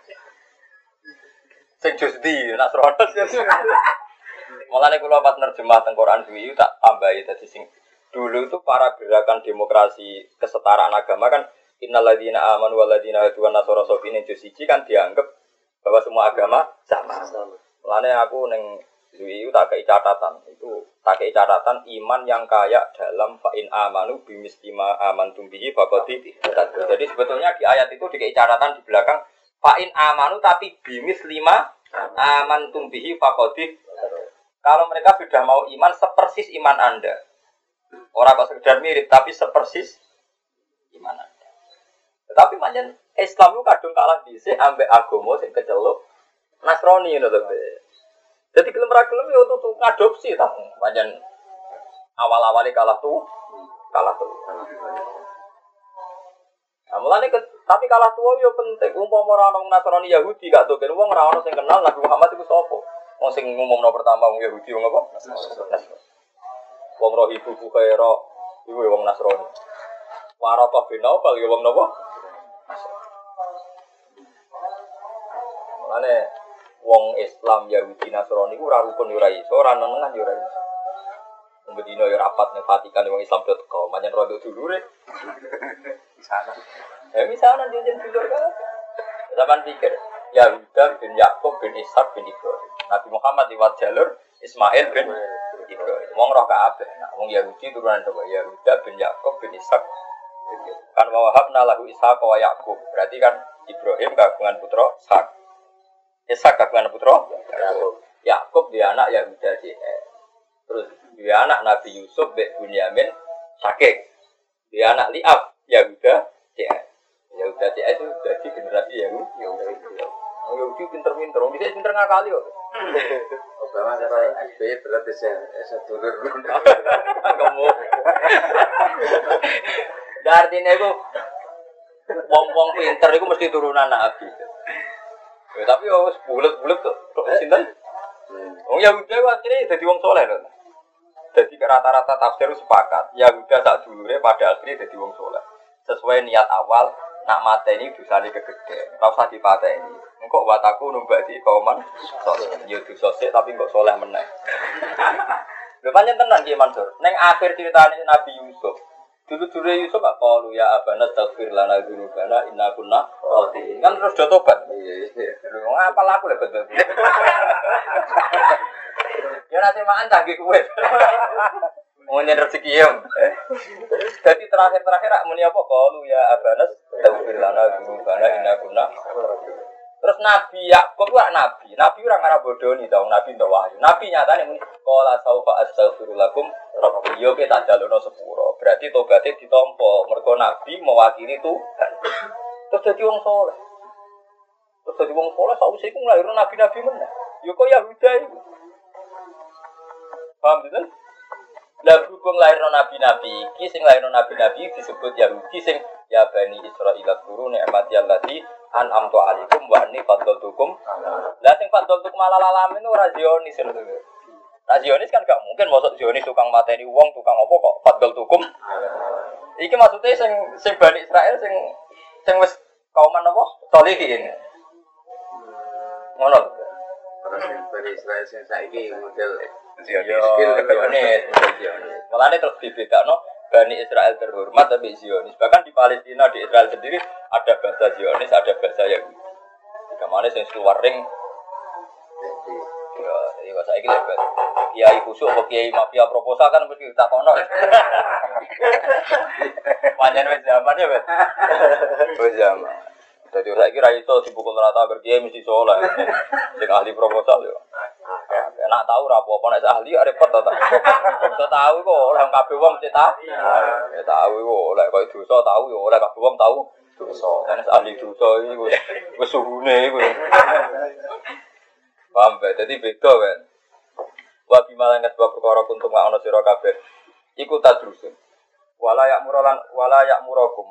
Sing jus ndi Nasrani. Mulane kula pas nerjemah teng Quran kuwi tak tambahi dadi sing dulu itu para gerakan demokrasi kesetaraan agama kan innalladzina amanu walladzina hadu wan nasara sofine juz 1 kan dianggap bahwa semua agama sama. Mulane aku ning duwi tak kei catatan. Itu tak kei catatan iman yang kaya dalam fa in amanu bimistima amantum bihi faqad. Jadi sebetulnya di ayat itu dikei catatan di belakang fa in amanu tapi bimislima amantum bihi faqad. Kalau mereka sudah mau iman sepersis iman Anda. Orang kok sekedar mirip tapi sepersis gimana? Tetapi pancen Islam itu kadung kalah dhisik ambek agama sing keceluk Nasrani ngono to. Jadi gelem ra gelem ya tutu ngadopsi ta. Pancen awal-awale kalah tuh. Nah, mulane tapi kalah tuwa yo penting. Umpama ora ono Nasrani Yahudi gak doken wong ora ono sing kenal Nabi Muhammad iku sapa. Wong sing ngumumno pertama wong Yahudi wong apa? Nasrani. Wong Rohibu Bukhaira iku wong Nasrani. Waraqah bin Naufal ya wong napa? Mulane wong Islam Yahudi Nasrani iku ora rukun ora iso, ora nenengan ora iso. Wong Medina ya rapat ning Vatikan wong Islam teko, manyen rondo dulure. Misalan. Misalan jeneng dulur kan. Zaman pikir Yahuda bin Yakub bin Ishak bin Ibrahim. Nabi Muhammad liwat jalur Ismail bin Ibrahim. Wong roh kabeh. Wong Yahudi turunan sapa? Yahuda bin Yakub bin Ishak. Kan wa wahabna lahu Ishaq wa Yaqub. Berarti kan Ibrahim kagungan putra Ishak. Ishak kagungan putra Yaqub. Yaqub dia anak Yahuda terus dia anak Nabi Yusuf bin Bunyamin Syakik. Dia anak Liab Yahuda Yahuda itu jadi generasi Yahudi pinter-pinter. Bisa pinter ngakali kok. Obama sampai SBY berarti saya dulur. Kamu. Artinya itu wong-wong pinter itu mesti turunan Nabi. Ya, tapi ya bulet-bulet kok. Sinten? Wong Yahuda ku akhirnya dadi wong saleh lho. Dadi rata-rata tafsir sepakat, Yahuda sak dulure pada akhirnya dadi wong saleh. Sesuai niat awal nak mateni dosane kegede. Ora usah dipateni. Engko wataku numbati kauman saleh. Ya dosa sik tapi kok saleh meneh. Lho pancen tenan Ki Mansur. Ning akhir ceritane Nabi Yusuf. Dulu-dulu Yusuf gak qalu ya abana taghfir lana dzunubana inna kunna khati'in. Kan terus do tobat. Iya. Lho ngapal aku lho betul. Ya nasi makan canggih kowe. Mau nyen rezeki ya. Jadi terakhir muni apa qalu ya abana taghfir lana dzunubana inna kunna. Terus Nabi Yakub ku nabi. Nabi ora ngarep bodoni ta, Nabi entuk wahyu. Nabi nyatane muni qala saufa astaghfirullakum rabbi yo ke tak jalono sepuro. Berarti tobaté ditampa. Mergo Nabi mewakili Tuhan. Terus dadi wong saleh. Terus dadi wong saleh sausé iku nglairno nabi-nabi meneh. Yo kok Yahuda iku. Paham betul? Lah berhubung lairno nabi-nabi iki sing lairno nabi-nabi disebut Yahudi sing ya bani Israil guru nikmati allati an'amtu alaikum wa anni fadlaltukum. Lah sing fadlaltukum ala alamin ora Zionis lho. Nah Zionis kan gak mungkin masuk Zionis tukang mateni wong, tukang apa kok fadlaltukum. Iki maksudnya sing Bani Israil sing wis kauman apa? Solihin. Ngono. Terus Bani Israil sing saiki model Zionis. Mulane terus dibedakno Bani Israel terhormat tapi Zionis. Bahkan di Palestina di Israel sendiri ada bahasa Zionis, ada bahasa Yahudi. Jika mana sing keluar ring ya Iya saiki lek kiai kusuk apa kiai mafia proposal kan mesti ditakono. Panjen wis zaman ya, Bet. Wis zaman. Dadi saiki ra iso dipukul rata berkiai mesti saleh. Sing ahli proposal yo. Nek tahu ra apa-apa nek ahli repot to ta. Iso tahu kok ora kabeh wong mesti tahu. Ya tahu kok lek koyo dosa tahu yo ora kabeh wong tahu dosa. Nek ahli dosa iki wis suhune iku. Paham ba? Dadi beda kan. Wa bimalan sebab perkara kuntum wa ana sira kabeh. Iku tadrusun. Wala ya'murukum.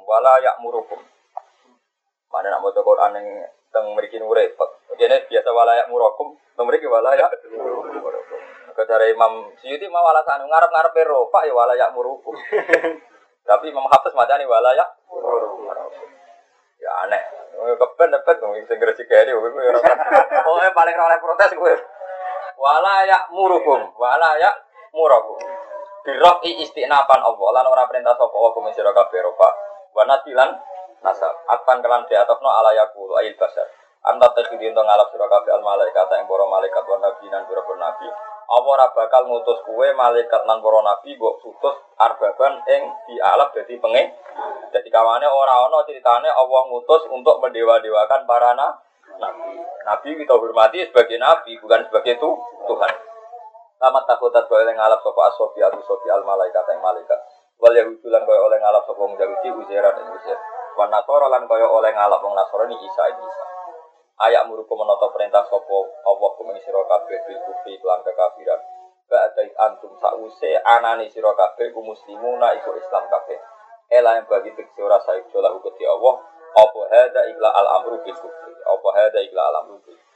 Mana nak maca Quran ning teng mriki repot. Dene biasa wala ya'murukum, teng mriki wala ya'murukum. Kata Imam Suyuti mau alasan ngarep-ngarepe rofa ya wala ya'murukum. Tapi Imam Hafiz macane wala ya'murukum. Ya aneh. Keben dapat sing gresik kene kowe ora. Pokoke paling ora oleh protes kowe. Wala ya'murukum. Birofi istinapan Allah lan ora perintah sapa wa kum sira kabeh rofa. Wa nasilan nasab. Atpan kelan di atofno ala yaqulu ayil basar. Anta takhidin to ngalap sira kabeh al malaikat ing para malaikat wa nabi lan para nabi. Apa ora bakal ngutus kowe malaikat lan para nabi mbok utus arbaban ing dialap dadi pengen. Dadi kawane ora ana critane Allah ngutus untuk mendewa-dewakan para nabi. Nabi kita hormati sebagai nabi bukan sebagai Tuhan. Tamat takutat kowe oleh ngalap sapa asofi al malaikat ing malaikat. Wal yahudulan kowe oleh ngalap sapa wong Yahudi Uzairan ing Uzair. Wan nasara lan kowe oleh ngalap wong Nasrani Isa. Ayak muruku menata perintah sapa Allah kumeng sira kabeh bil kufri lan kekafiran. Ba'dai antum sause anane sira kabeh ku muslimuna iku Islam kabeh. Ela yang bagi tekse ora sae jolah uga di Allah. Apa hada illa al amru bil kufri. Apa hada illa al amru bil